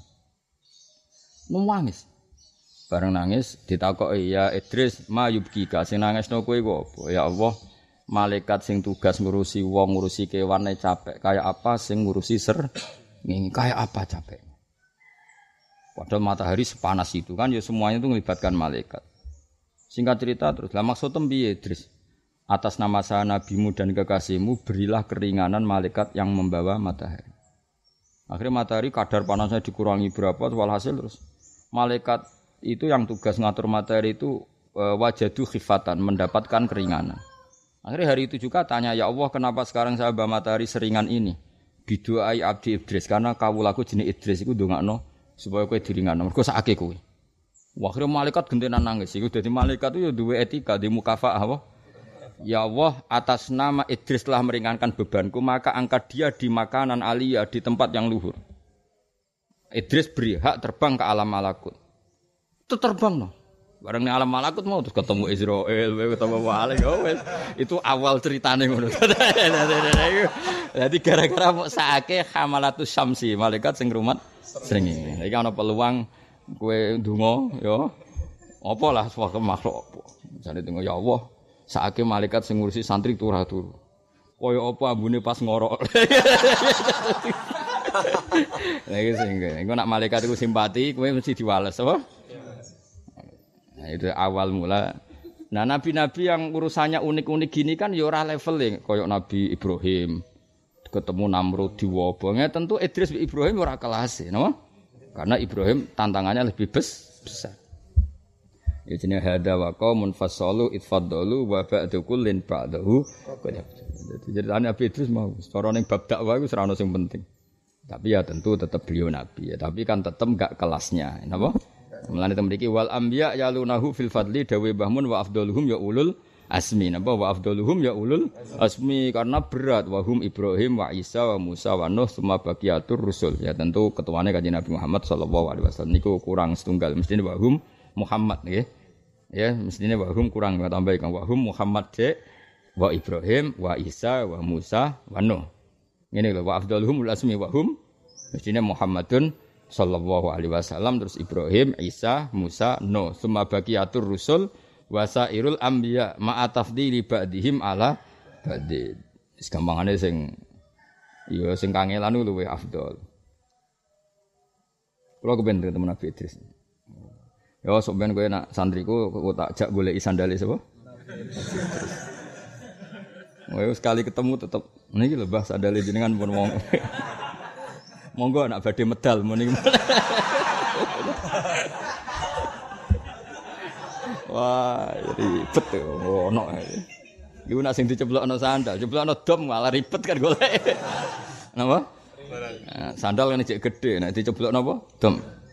Nangis. Bareng nangis ditakoki ya Idris, ma yubkika sing nangisno kowe iku apa? Ya Allah, malaikat sing tugas ngurusi wong, ngurusi kewane capek kaya apa sing ngurusi ngene kaya apa capek. Padahal matahari sepanas itu kan ya semuanya itu melibatkan malaikat. Singkat cerita terus, lah maksudnya piye Idris? Atas nama saya nabimu dan kekasihmu berilah keringanan malaikat yang membawa matahari. Akhirnya matahari kadar panasnya dikurangi berapa, walhasil terus malaikat itu yang tugas ngatur matahari itu wajadu khifatan, mendapatkan keringanan. Akhirnya hari itu juga tanya, ya Allah kenapa sekarang saya bawa matahari seringan ini? Bidu'ai abdi Idris, karena kawulaku jenis Idris itu ndongakno supaya kowe diringanno. Mergo sakake kowe. Akhirnya malaikat gentenan nangis. Iku dadi malaikat itu ya duwe etika, di mukafaah apa? Ya Allah, atas nama Idris telah meringankan bebanku, maka angkat dia di makanan aliyah, di tempat yang luhur. Idris beri hak terbang ke alam malakut. Itu terbang no. Bareng ning alam malakut mau terus ketemu Israil, ketemu Malik. Oh wes. Itu awal ceritane ngono. Jadi gara-gara mau saake hamalatus syamsi, malaikat sing rumat srengenge. Iki ana peluang kowe ndonga ya. Apa lah suatu makhluk apa. Jane tengok ya Allah, saake malaikat sing ngurusi santri turu. Kaya apa ambune pas ngorok. Lah iki sing engko nak malaikat iku simpati, kowe mesti diwales apa? Nah, itu awal mula. Nah, nabi-nabi yang urusannya unik-unik gini kan ya ora level kaya Nabi Ibrahim ketemu Namrud diwobonge tentu Idris bin Ibrahim ora kelas, napa? Karena Ibrahim tantangannya lebih besar. Ya jenenge hada wa qaumun fasalu itfadalu wa ba'du kullin ba'dahu. Jadi ceritane Nabi Idris mau cara ning bab dakwah iku ora ono sing penting. Tapi ya tentu tetap beliau nabi ya, tapi kan tetap enggak kelasnya, napa? Mulane temriki wal anbiya yalunahu fil fadli dawe bahmun wa afdaluhum ya ulul asmi, napa wa afdaluhum ya ulul asmi karena berat wahum Ibrahim wa Isa wa Musa wa Nuh semua baqiyatur rusul. Ya tentu ketuane Kanjeng Nabi Muhammad sallallahu alaihi wasallam niku kurang setunggal mestine wahum Muhammad nggih. Ya mestine wahum kurang tambah kan wahum Muhammad wa Ibrahim wa Isa wa Musa wa Nuh. Ngene lho wa afdaluhum ul asmi wa hum mestine Muhammadun sallallahu alaihi wasallam terus Ibrahim, Isa, Musa, Nuh, summa baqiyatur rusul wa sairul anbiya ma'a tafdili ba'dihim ala ba'din. Wis gampangane sing ya sing kangelan luwih afdal. Kulo kepen temen Nabi Idris. Ya sok ben kowe nak santriku kok tak jak goleki sandale sapa? Wah, sekali ketemu tetep niki lho Mbah sandale jenengan pun wong. Monggo anak badhe medal mun niki. Wah, ribet to ono. Iku nak sing diceblokno sandal, ceblokno dom malah ribet kan golek. Napa? Nah, sandal kan cek gedhe, nek diceblokno apa? Dom.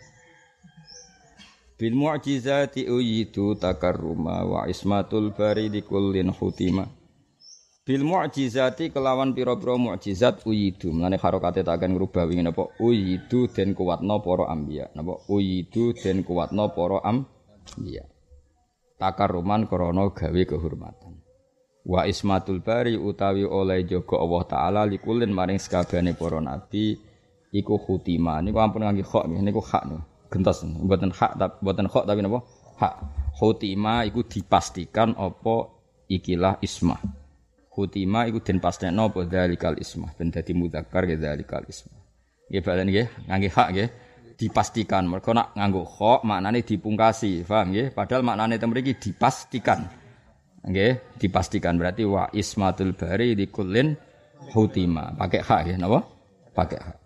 Bil mu'jizati uyitu takarruma wa ismatul bari likullin hutima. Bil mu'jizati kelawan pira-pira mukjizat uyidu. Mulane harokate tak akan ngrubah wingi napa uyidu den kuwatna para anbiya. Napa uyidu den kuwatna para anbiya. Takarruman krana gawe kehormatan. Wa ismatul bari utawi oleh jaga Allah taala likulin maring sakabehane para nabi iku khutima. Niku ampun ngangge kha niku hak niku. Gentos mboten hak tapi mboten kha tapi napa? Hak. Khutima iku dipastikan apa ikilah ismah. Khutima iku den pastekno apa dzalikal ismah ben dadi mudzakkar ya dzalikal ismah. Nggih balen nggih ngangge hak nggih dipastikan. Mergo nak nganggo kha maknane dipungkasi, paham nggih? Padahal maknane ten mriki dipastikan. Nggih, dipastikan berarti wa ismatul bari likullin khutima. Pakai hak nggih napa? Pakai hak.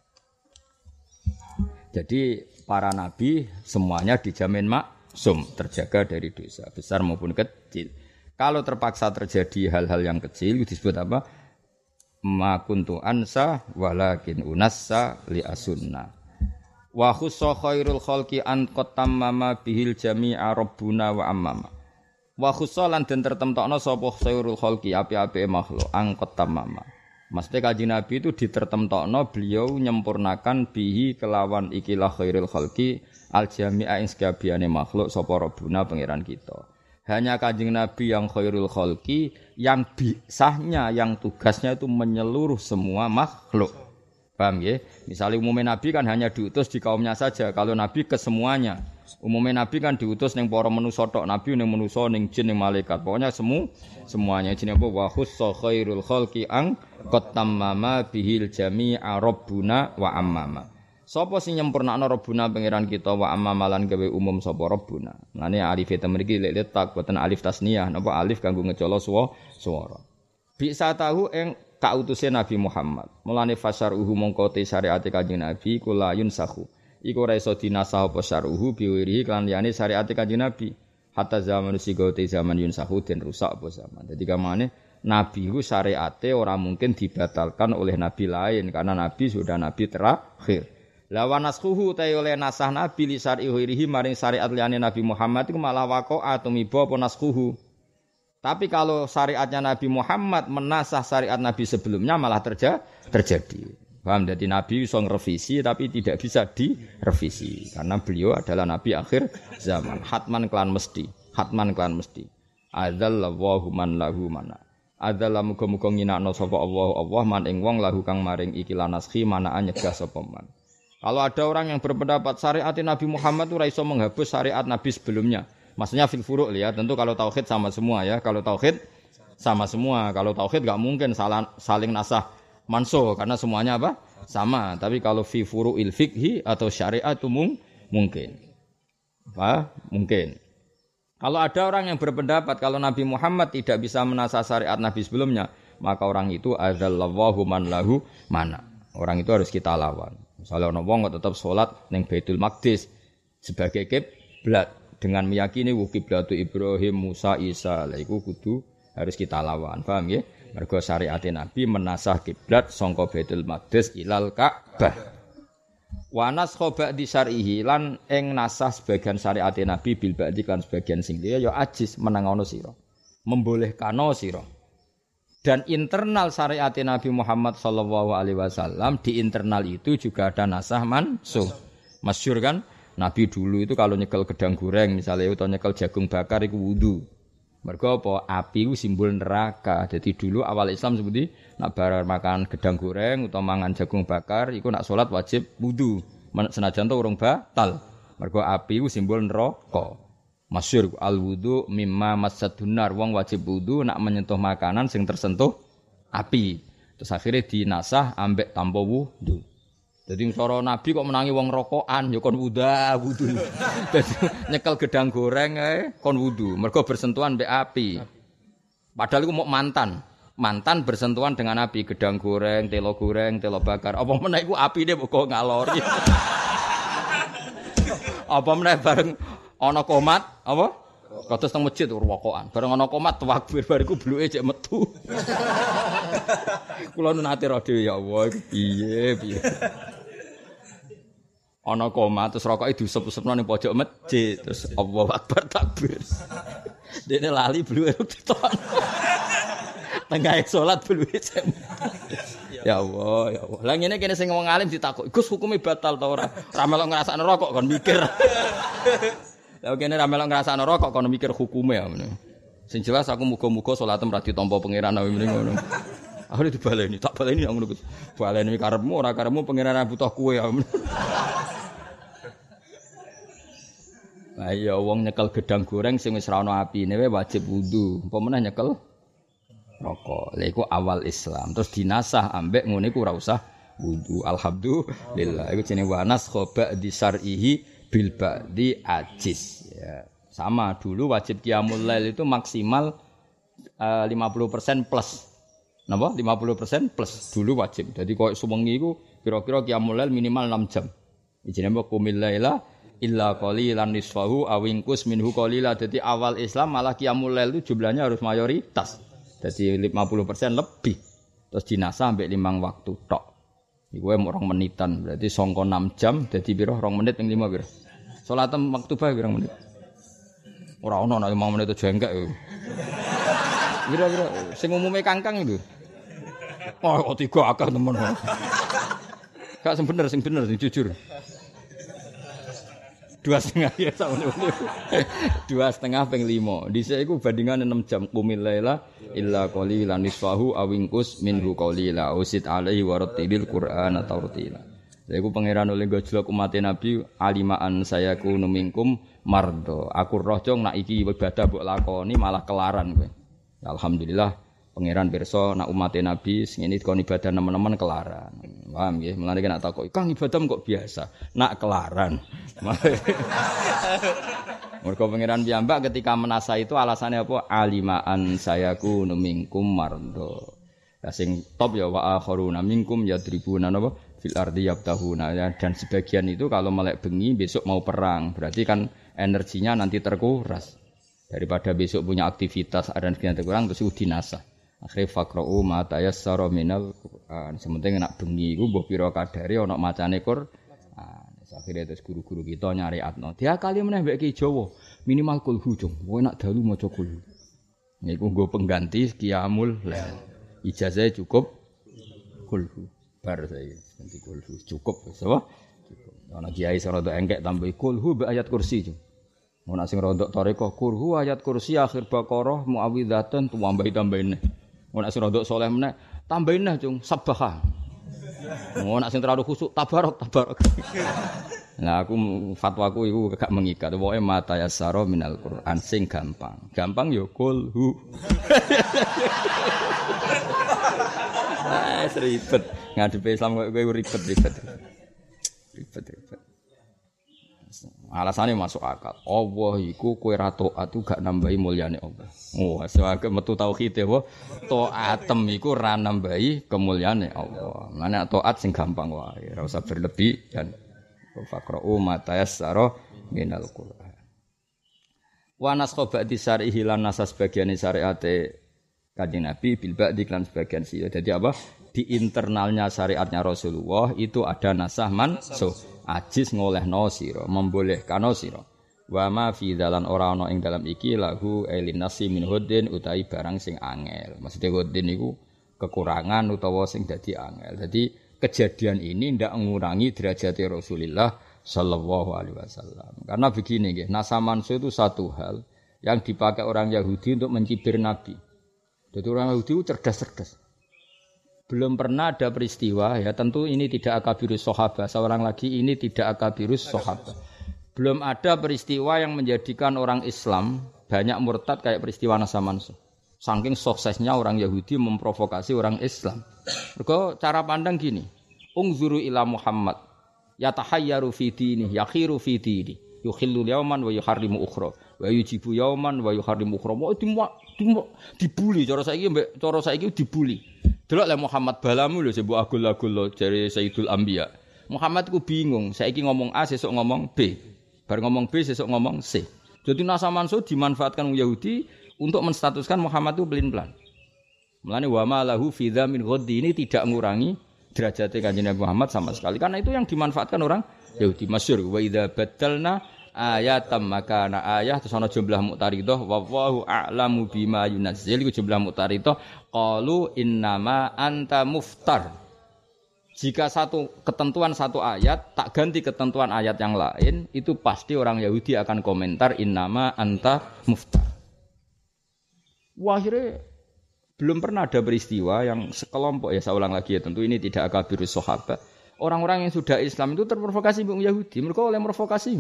Jadi para nabi semuanya dijamin maksum, terjaga dari dosa besar maupun kecil. Kalau terpaksa terjadi hal-hal yang kecil disebut apa? Ma kuntu ansa walakin unassa li asunna. Wa khussa khairul khalqi an qatamma bihil jami'a rabbuna wa ammama. Wa khussa lan den tertemtokno sapa khairul khalqi api-apike makhluk an qatamma. Maksudnya Kanjeng Nabi itu ditertemtokno beliau nyempurnakan bihi kelawan ikilah khairul khalqi al jami'a ing sakabehane makhluk sapa rabbuna pangeran kita. Hanya Kanjeng Nabi yang khairul khalqi yang bisahnya yang tugasnya itu menyeluruh semua makhluk. Paham nggih? Misalnya umumnya Nabi kan hanya diutus di kaumnya saja. Kalau Nabi ke semuanya. Umumnya Nabi kan diutus ning para manusa tok, Nabi ning manusa ning jin ning malaikat. Pokoknya semuanya jenenge apa wa khussa khairul khalqi ang qatamma bihil jami'a rabbuna wa ammama. Sapa sing nyempurnakno Rabbuna pangeran kita wa amamalan gawe umum sapa Rabbuna. Lane alif eta mriki letak boten alif tasniyah napa alif kanggo ngecolo swara. Bisa tahu ing kautuse Nabi Muhammad. Mulane fasaruhu mongko te syariate Kanjeng Nabi kula yunsahu. Iku ora iso dinasah apa saruhu biwirihi kan liyane syariate Kanjeng Nabi. Hatta zaman sigote zaman yunsahu den rusak apa zaman. Dadi kamane Nabi ku syariate ora mungkin dibatalkan oleh nabi lain karena nabi sudah nabi terakhir. Lawan naskuhu ta oleh nasah nabi li syarihi maring syariat liyane Nabi Muhammad iku malah waqa'a tumiba apa naskuhu. Tapi kalau syariatnya Nabi Muhammad menasah syariat nabi sebelumnya malah terjadi. Paham? Jadi nabi iso ngrevisi tapi tidak bisa direvisi karena beliau adalah nabi akhir zaman. Hatman klan mesti. Adzallahu man lahu mana. Adzalla muga-muga nginakno sapa Allah man ing wong lahu kang maring iki lanaskhi manaan nyegah sapa man. Kalau ada orang yang berpendapat syariat Nabi Muhammad itu raiso menghapus syariat Nabi sebelumnya. Maksudnya fil furu' ya. Tentu kalau tauhid sama semua ya. Kalau tauhid sama semua. Kalau tauhid enggak mungkin saling nasah mansuh karena semuanya apa? Sama. Tapi kalau fi furu'il fiqhi atau syariat itu mungkin. Mungkin. Kalau ada orang yang berpendapat kalau Nabi Muhammad tidak bisa menasah syariat Nabi sebelumnya, maka orang itu adzallallahu man lahu mana. Orang itu harus kita lawan. Misalnya ana wong kok tetep salat ning Baitul Maqdis sebagai kiblat dengan meyakini kiblatu Ibrahim, Musa, Isa, lha iku kudu harus kita lawan. Paham nggih? Mergo syariat Nabi menasah kiblat sangka Baitul Maqdis ilal Ka'bah. Wa naskha ba'di syar'ihi lan ing nasah sebagian syariat Nabi bil ba'di kan sebagian sing liya ya ajis menangono sira. Membolehkano sira. Dan internal syariat Nabi Muhammad sallallahu alaihi wasallam di internal itu juga ada nasah mansuh. Masyhur kan? Nabi dulu itu kalau nyekel gedang goreng misalnya atau nyekel jagung bakar iku wudu. Mergo apa? Api ku simbol neraka. Jadi dulu awal Islam seperti nak bar makan gedang goreng atau mangan jagung bakar iku nak salat wajib wudu. Senajan to urung batal. Mergo api ku simbol neraka. Masyhur al wudu mimma masaddunar. Wong wajib wudu nak menyentuh makanan sing tersentuh api. Terus akhirnya dinasah ambek tanpa wudu. Jadi cara Nabi kok menangi wong rokokan ya kon wudu. Dadi nyekel gedang goreng kon wudu, mergo bersentuhan mbek api. Padahal iku mau mantan. Mantan bersentuhan dengan api, gedang goreng, telo bakar. Apa meneh iku apine kok ngalori. Apa meneh bareng ana komat, apa? Kados teng masjid rokokan. Bareng ana komat takbir bariku bluke cek metu. Kula nate ro dhewe ya Allah iku piye. Ana koma terus rokoke diusep-usepno ning pojok masjid terus Allahu Akbar takbir. Dene lali bluwe diton. Tengah salat bluwe. Ya Allah, ya Allah. Lah ngene kene sing wong alim ditakok, "Gus hukume batal ta ora?" Ra melok ngrasakno rokok kon mikir. Lah kene ra melok ngrasakno rokok kon mikir hukume ya ngene. Sing jelas aku muga-muga salatem ra ditampa pangeran mrene ngono. Aku dibaleni, tak baleni ngono Gus. Baleni karepmu ora karepmu pangeran butuh kowe ya. Lah iya wong nyekel gedang goreng sing wis ra ono apine wae wajib wudu. Apa meneh nyekel rokok. Lha iku awal Islam. Terus dinasah ambek ngene iku ora usah wudu. Alhamdulillah. Iku jenenge wanas khoba di syar'ihi bil ba'di ajiz. Ya. Sama dulu wajib qiyamul lail itu maksimal 50% plus. Napa? 50% plus dulu wajib. Jadi koyo suwengi iku kira-kira qiyamul lail minimal 6 jam. Jenenge qumil laila illa qalilan nisfahu awingkus minhu qalila. Jadi awal Islam malah qiyamul lail itu jumlahnya harus mayoritas. Jadi 50% lebih. Terus dinasah sampai 5 waktu tok. Iku wae 2 menitan. Berarti sangka 6 jam dadi pira 2 menit ping 5 pira. Salat maktubah pira menit? Ora ono nek 5 menit aja engkek. Kira-kira sing umume kangkang itu. Oh, kok 3 akeh temen. Gak sing bener sing jujur. 2,5 ya sama ini. 2,5 ping 5. Dhisik iku bandingan 6 jam qumil laila illa qalilan nisfahu awingkus minhu qalila usid alaihi wa rattilil qur'ana tartila. Lha iku pangeran oleh gojlok umat Nabi alimaan sayaku numingkum mardo. Aku roh jong nak iki ibadah mbok lakoni malah kelaran kowe. Alhamdulillah pangeran pirsa nak umat Nabi sing ini kon ibadah nemen-nemen kelaran. Paham nggih? Mulane nek takok, "Kang ibadah kok biasa?" Nak kelaran. Mergo pangeran piyambak ketika menasa itu alasannya apa? Alimaan sayaku numingkum mardo. Lah sing top ya wa akharuna minkum yadribuna napa fil ardi yabtahuna ya. Dan sebagian itu kalau melek bengi besok mau perang, berarti kan energinya nanti terkuras. Daripada besok punya aktivitas dan sekian terkurang terus dinasah. Akhire faqra'u ma tayassara minal Qur'an. Sementing nak bengi iku mbah pira kadare ana macane Qur'an. Akhire terus guru-guru kita nyari atno. Dia kali meneh mbek Ki Jawa, minimal kulhu jong. Kowe nak dalu maca kulhu. Niku nggo pengganti qiyamul lail. Ijazah cukup kulhu. Bar saiki ganti kulhu cukup wis apa? Cukup. Ana kiai sing rada engkek tambah kulhu mbek ayat kursi jong. Ana sing rada tarekah kulhu ayat kursi akhir Baqarah muawwidzatan tambahin. Ana sing rada saleh meneh tambahin nah jong sabbaha. Ana sing terlalu khusuk tabarak. Nah aku fatwaku iku gak mengikat. Pokoke mata yassara minal Qur'an sing gampang. Gampang ya kulhu. Ribet. Ngadepi Islam kowe ribet. Alasannya masuk akal. Allah iku kowe ra taat gak nambahi mulyane Allah. Oh, asake metu tauhid ya, taatem iku ra nambahi kemuliaane Allah. Mane taat sing gampang wae, ora usah berlebih dan faqra'u ma tayassara minal Qur'an. Wa naskha ba'di syar'ihi lan nasa sebagian syariate Kanjeng Nabi bil ba'di lan sebagian sih. Jadi apa? Di internalnya syariatnya Rasulullah itu ada nasah mansukh. Ajis ngolehno sira, membolehkano sira. Wa ma fi dalan ora ana ing dalam iki lahu elinasi min huddin utahi barang sing angel. Maksudnya huddin iku kekurangan utawa sing dadi angel. Jadi kejadian ini ndak mengurangi derajat Rasulullah sallallahu alaihi wasallam. Karena begini nggih, nasah mansukh itu satu hal yang dipakai orang Yahudi untuk mencibir Nabi. Jadi orang Yahudi itu cerdas-cerdas. Belum pernah ada peristiwa, ya tentu ini tidak akabirus sahabat. Seorang lagi ini tidak akabirus sahabat. Belum ada peristiwa yang menjadikan orang Islam banyak murtad kayak peristiwa nasah mansukh. Saking suksesnya orang Yahudi memprovokasi orang Islam. Mergo cara pandang gini, ungzuru ila Muhammad, yatahayyaru fi dini, yakhiru fi dini, yukhillu yawman wa yuharrimu ukhra, wa yujibu yawman wa yuharrimu ukhra. Dibuli cara saiki dibuli. Delok le Muhammad balamu lho sebut agul-agul lho jare Sayyidul Anbiya. Muhammad ku bingung, saiki ngomong A sesuk ngomong B. Bar ngomong B sesuk ngomong C. Jadi nasah mansukh dimanfaatkan orang Yahudi untuk menstatuskan Muhammad itu pelin-pelan. Mulane wa ma lahu fi dzamin ghaddi ini tidak mengurangi derajat Kanjeng Nabi Muhammad sama sekali. Karena itu yang dimanfaatkan orang Yahudi. Masyhur wa idza baddalna ayatam makana ayah terus ana jumlah muqtaridah wallahu a'lamu bima yunazzil iku jumlah muqtaridah qalu innama anta muftar. Jika satu ketentuan satu ayat tak ganti ketentuan ayat yang lain, itu pasti orang Yahudi akan komentar innama anta muftar. Wah, akhirnya belum pernah ada peristiwa yang sekelompok, ya saya ulang lagi ya, tentu ini tidak akabirus sahabat. Orang-orang yang sudah Islam itu terprovokasi oleh Yahudi. Mereka oleh provokasi.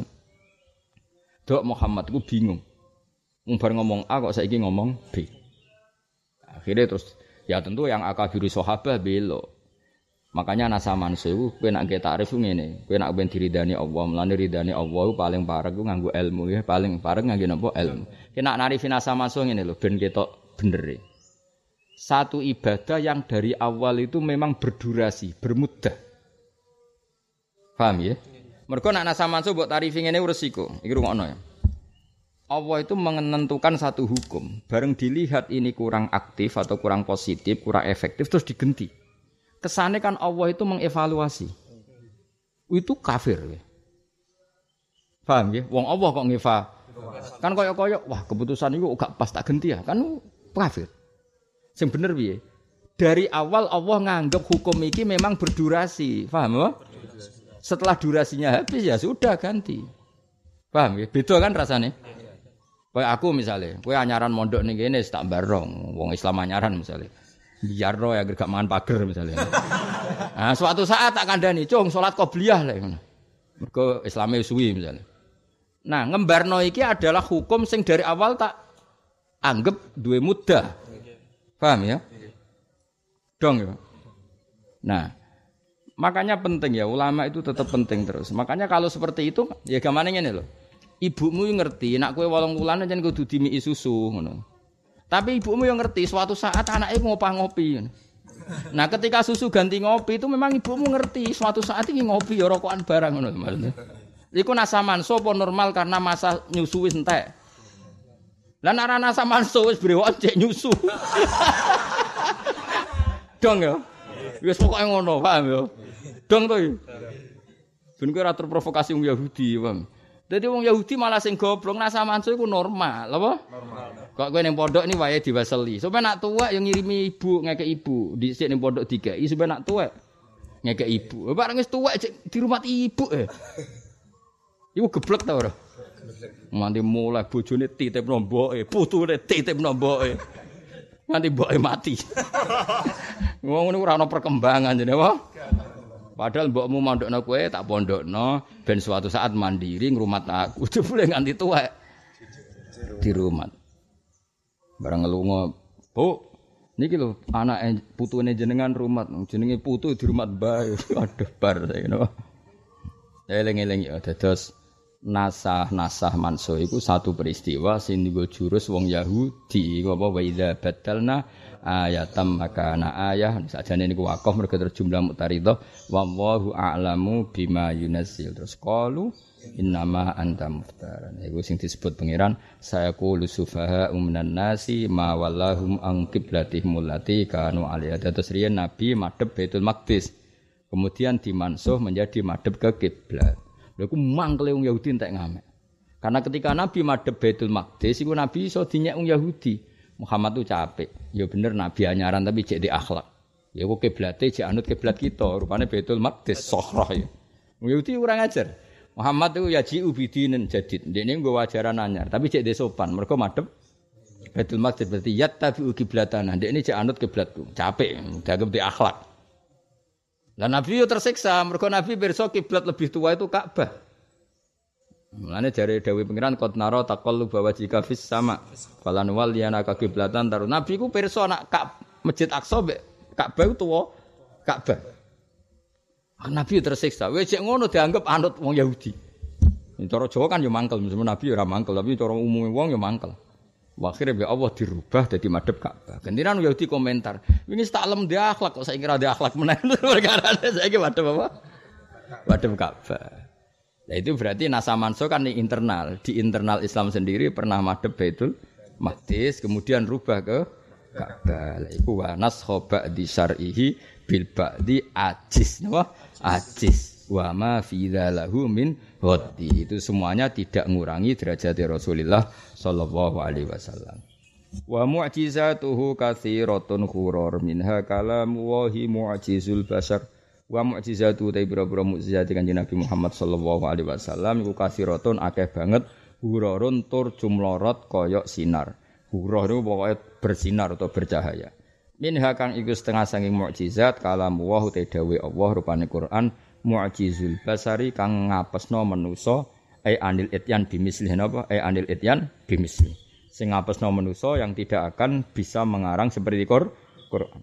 Dok Muhammad ku bingung. Bar ngomong A kok saiki ngomong B. Akhirnya terus ya tentu yang akabirus sahabat belok. Makanya nasah mansukh kowe nek nggih takrif ngene, kowe nek ben diridani Allah, mlane ridani Allah paling parek ku nganggo ilmu ya, paling parek nganggo napa ilmu. Kena narifin nasah mansukh ngene lho ben ketok bener. Satu ibadah yang dari awal itu memang berdurasi, bermuddah. Paham ya? Mergo nek nasah mansukh mbok tarifi ngene resiko. Iki rungokno ya. Allah itu menentukan satu hukum, bareng dilihat ini kurang aktif atau kurang positif, kurang efektif terus digenti. Kesane kan Allah itu mengevaluasi. Itu kafir ya. Paham ya? Wong Allah kok kan koyo-koyo wah keputusan iku gak pas tak genti ya. Kan kafir. Sing bener piye? Dari awal Allah nganggep hukum iki memang berdurasi. Paham ya? Setelah durasinya habis ya sudah ganti. Paham ya? Beda kan rasanya? Kayak aku misalnya, kowe anyaran mondok ning kene tak barong, wong Islam anyaran misalnya. Biarno ya gak mangan pager misalnya. Nah, suatu saat tak kandhani, "Cung, salat qobliyah lek ngono." Mergo Islame suwi misalnya. Nah, ngembarno iki adalah hukum sing dari awal tak anggap duwe mudah. Paham ya? Dong ya. Nah, makanya penting ya, ulama itu tetap penting terus. Makanya kalau seperti itu, ya gamane ngene lho. Ibumu ngerti, nak kowe 8 wulan jan kudu dimiki susu ngono. Tapi ibumu yang ngerti, suatu saat anaknya ngopi. Nah, ketika susu ganti ngopi itu memang ibumu ngerti, suatu saat ini ngopi ya rokokan barang ngono maksudnya. Iku nasah mansukh apa normal karena masa nyusu wis entek. Lah nek ana nasah mansukh wis brewok cek nyusu. Dong ya. Wis pokoke ngono, paham ya? Dong to. Ben kowe ora terprovokasi wong Yahudi, paham? Dadi wong Yahudi malah sing goblok nasah mansukh iku normal, apa? Normal. Kok kowe ning pondok ni wae diwaseli. Sampe nak tuwek yo ngirimi ibu ngekek ibu, dhisik ning pondok dikai sampe nak tuwek ngekek ibu. Bareng wis tuwek di rumah ibu Iku geblek ta ora? Nganti mulai bojone titipno mboke, putune titipno mboke. Nganti mboke mati. Ngono ora ana perkembangan jane apa? Padahal mbokmu mondokno kowe tak pondokno ben suatu saat mandiri ngrumat aku. Jebule nganti tuwek di rumah. Barang ngelunga, "Bu, niki lho anake putune jenengan rumat, jenenge putu di rumah bae." Aduh bar ngono. Eling-eling ya dados nasah mansuh iku satu peristiwa sing nggo jurus wong Yahudi apa wa idza batalna ayatam makana ayah sakjane niku wakaf mergo terjumlah mutaridah wallahu a'lamu bima yunazzil terus qalu innama anta muftaran iku sing disebut pangeran sayaqulu sufaha minan nasi ma wallahum an qiblatihim allati kanu alaiha terus riyen nabi madhep Baitul Maqdis kemudian dimansuh menjadi madhep ke kiblat. Lha iku mangkele wong Yahudi entek ngamek. Karena ketika Nabi madhep Baitul Maqdis iku Nabi iso dinyek wong Yahudi. Muhammad tuh capek. Ya bener Nabi anyaran tapi cek di akhlak. Ya kok kiblate cek anut kiblat kita, rupane Baitul Maqdis Sohrah ya. Wong Yahudi kurang ajar. Muhammad itu yaji'u bidinin jadid. Ndekne nggo ajaran anyar, tapi cek de sopan. Mergo madhep Baitul Maqdis berarti yattabi'u qiblatana. Ndekne cek anut kiblatku. Capek, dianggap di akhlak. Lah Nabi yo tersiksa, mergo Nabi pirsa kiblat lebih tua itu Ka'bah. Mulane jare dawuh pengiran qad nara taqallu bawajika fis sama. Falan wal yana ka kiblatan taru. Nabi ku pirsa nak Masjid Aqsa mbek Ka'bah tuwa Ka'bah. Nabi tersiksa. Wis cek ngono dianggap anut wong Yahudi. Cara Jawa kan yo mangkel, meskipun Nabi ora mangkel, tapi cara umume wong yo mangkel. Akhirnya ya Allah dirubah jadi madhep Ka'bah. Gantiran Yahudi komentar, "Wingi tak lem dia akhlak kok saya kira dia akhlak meneh." Perkara saiki madhep apa? Madhep Ka'bah. Nah itu berarti nasa manso kan di internal Islam sendiri pernah madhep Baitul Maqdis kemudian rubah ke Ka'bah. Lah iku wa naskhaba di syar'ihi bil ba'di ajiz, napa? Ajiz. Wa ma fi dzalahu min hadi itu semuanya tidak mengurangi derajat Rasulullah sallallahu alaihi wasallam. Wa mu'jizatuhu katsiratun khurur minha kalamu wahi mu'jizul bashar. Wa mu'jizatu ta ibra-ibra mukjizat Kanjeng Nabi Muhammad sallallahu alaihi wasallam iku katsiratun akeh banget hururun tur jumlorot kaya sinar. Hurur itu pokoke bersinar atau bercahaya. Minha kang iku setengah saking mukjizat kalamu wa te dawuh Allah rupane Quran mu'jizul basari kang ngapesno manusa anil ityan bimisli napa anil ityan bimisli sing ngapesno manusa yang tidak akan bisa mengarang seperti Quran.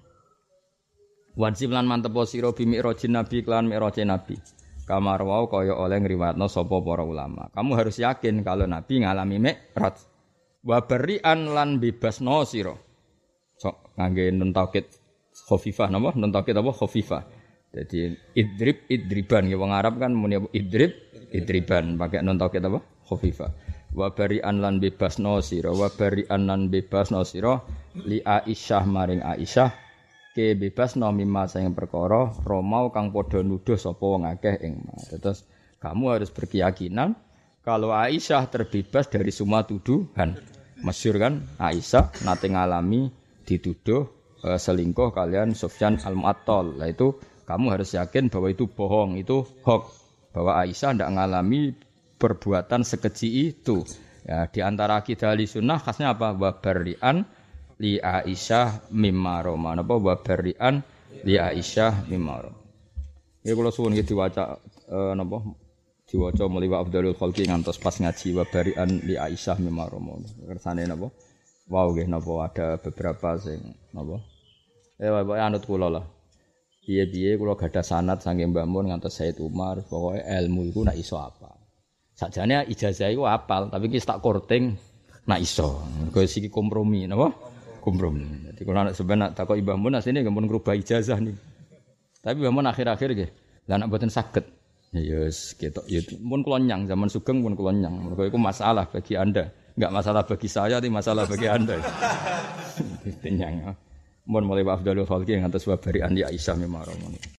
Wajib lan mantep sira bi mi'rajin nabi kelan mi'rajin nabi. Kamar wau kaya oleh ngriwatno sapa para ulama. Kamu harus yakin kalau nabi ngalami mi'raj. Wa bari'an lan bebasno sira. Sok ngangge nun taukid khafifah napa? Nun taukid apa khafifah. Jadi idriban ya wong Arab kan muni idriban pakai nun taukid apa? Khafifah. Wa bari'an lan bebasno sira wa bari'an lan bebasno sira li Aisyah maring Aisyah ke bebasno mimma sing perkara romau kang padha nuduh sapa wong akeh ing ma. Terus kamu harus berkeyakinan kalau Aisyah terbebas dari semua tuduhan. Masyhur kan Aisyah nate ngalami dituduh selingkuh kalian Sufyan Al-Mu'attal. Lah itu kamu harus yakin bahwa itu bohong, itu hoax. Bahwa Aisyah tidak mengalami perbuatan sekeji itu. Ya, di antara akidah Ahlussunnah khasnya apa? Wa bari'an li Aisyah mimma roma. Napa wa bari'an li Aisyah mimma roma. Ya kula suwun iki diwaca napa diwaca mulai wa afdhalul khalqi ngantos pas ngaji wa bari'an li Aisyah mimma roma. Kersane napa? Wow nggih napa ada beberapa sing napa? Wae anut kula lah. Piye-piye kula gadah sanad saking Mbah Mun ngantos Said Umar, pokoke ilmu iku nak iso apa. Sakjane ijazah iku apal, tapi iki tak korting nak iso. Mergo iki kompromi, napa? Kompromi. Dadi kula nek sampeyan nak takoki Mbah Mun asline nggih mun ngrubah ijazah nih. Tapi Mbah Mun akhir-akhir nggih, lah nek mboten saged. Ya wis ketok ya mun kula nyang zaman sugeng pun kula nyang. Mergo iku masalah bagi Anda. Enggak masalah bagi saya, tapi masalah bagi Anda. Nyang. Mun mulai wa afdhalul khalqi ngantos wa bari'an li Aisyah mimma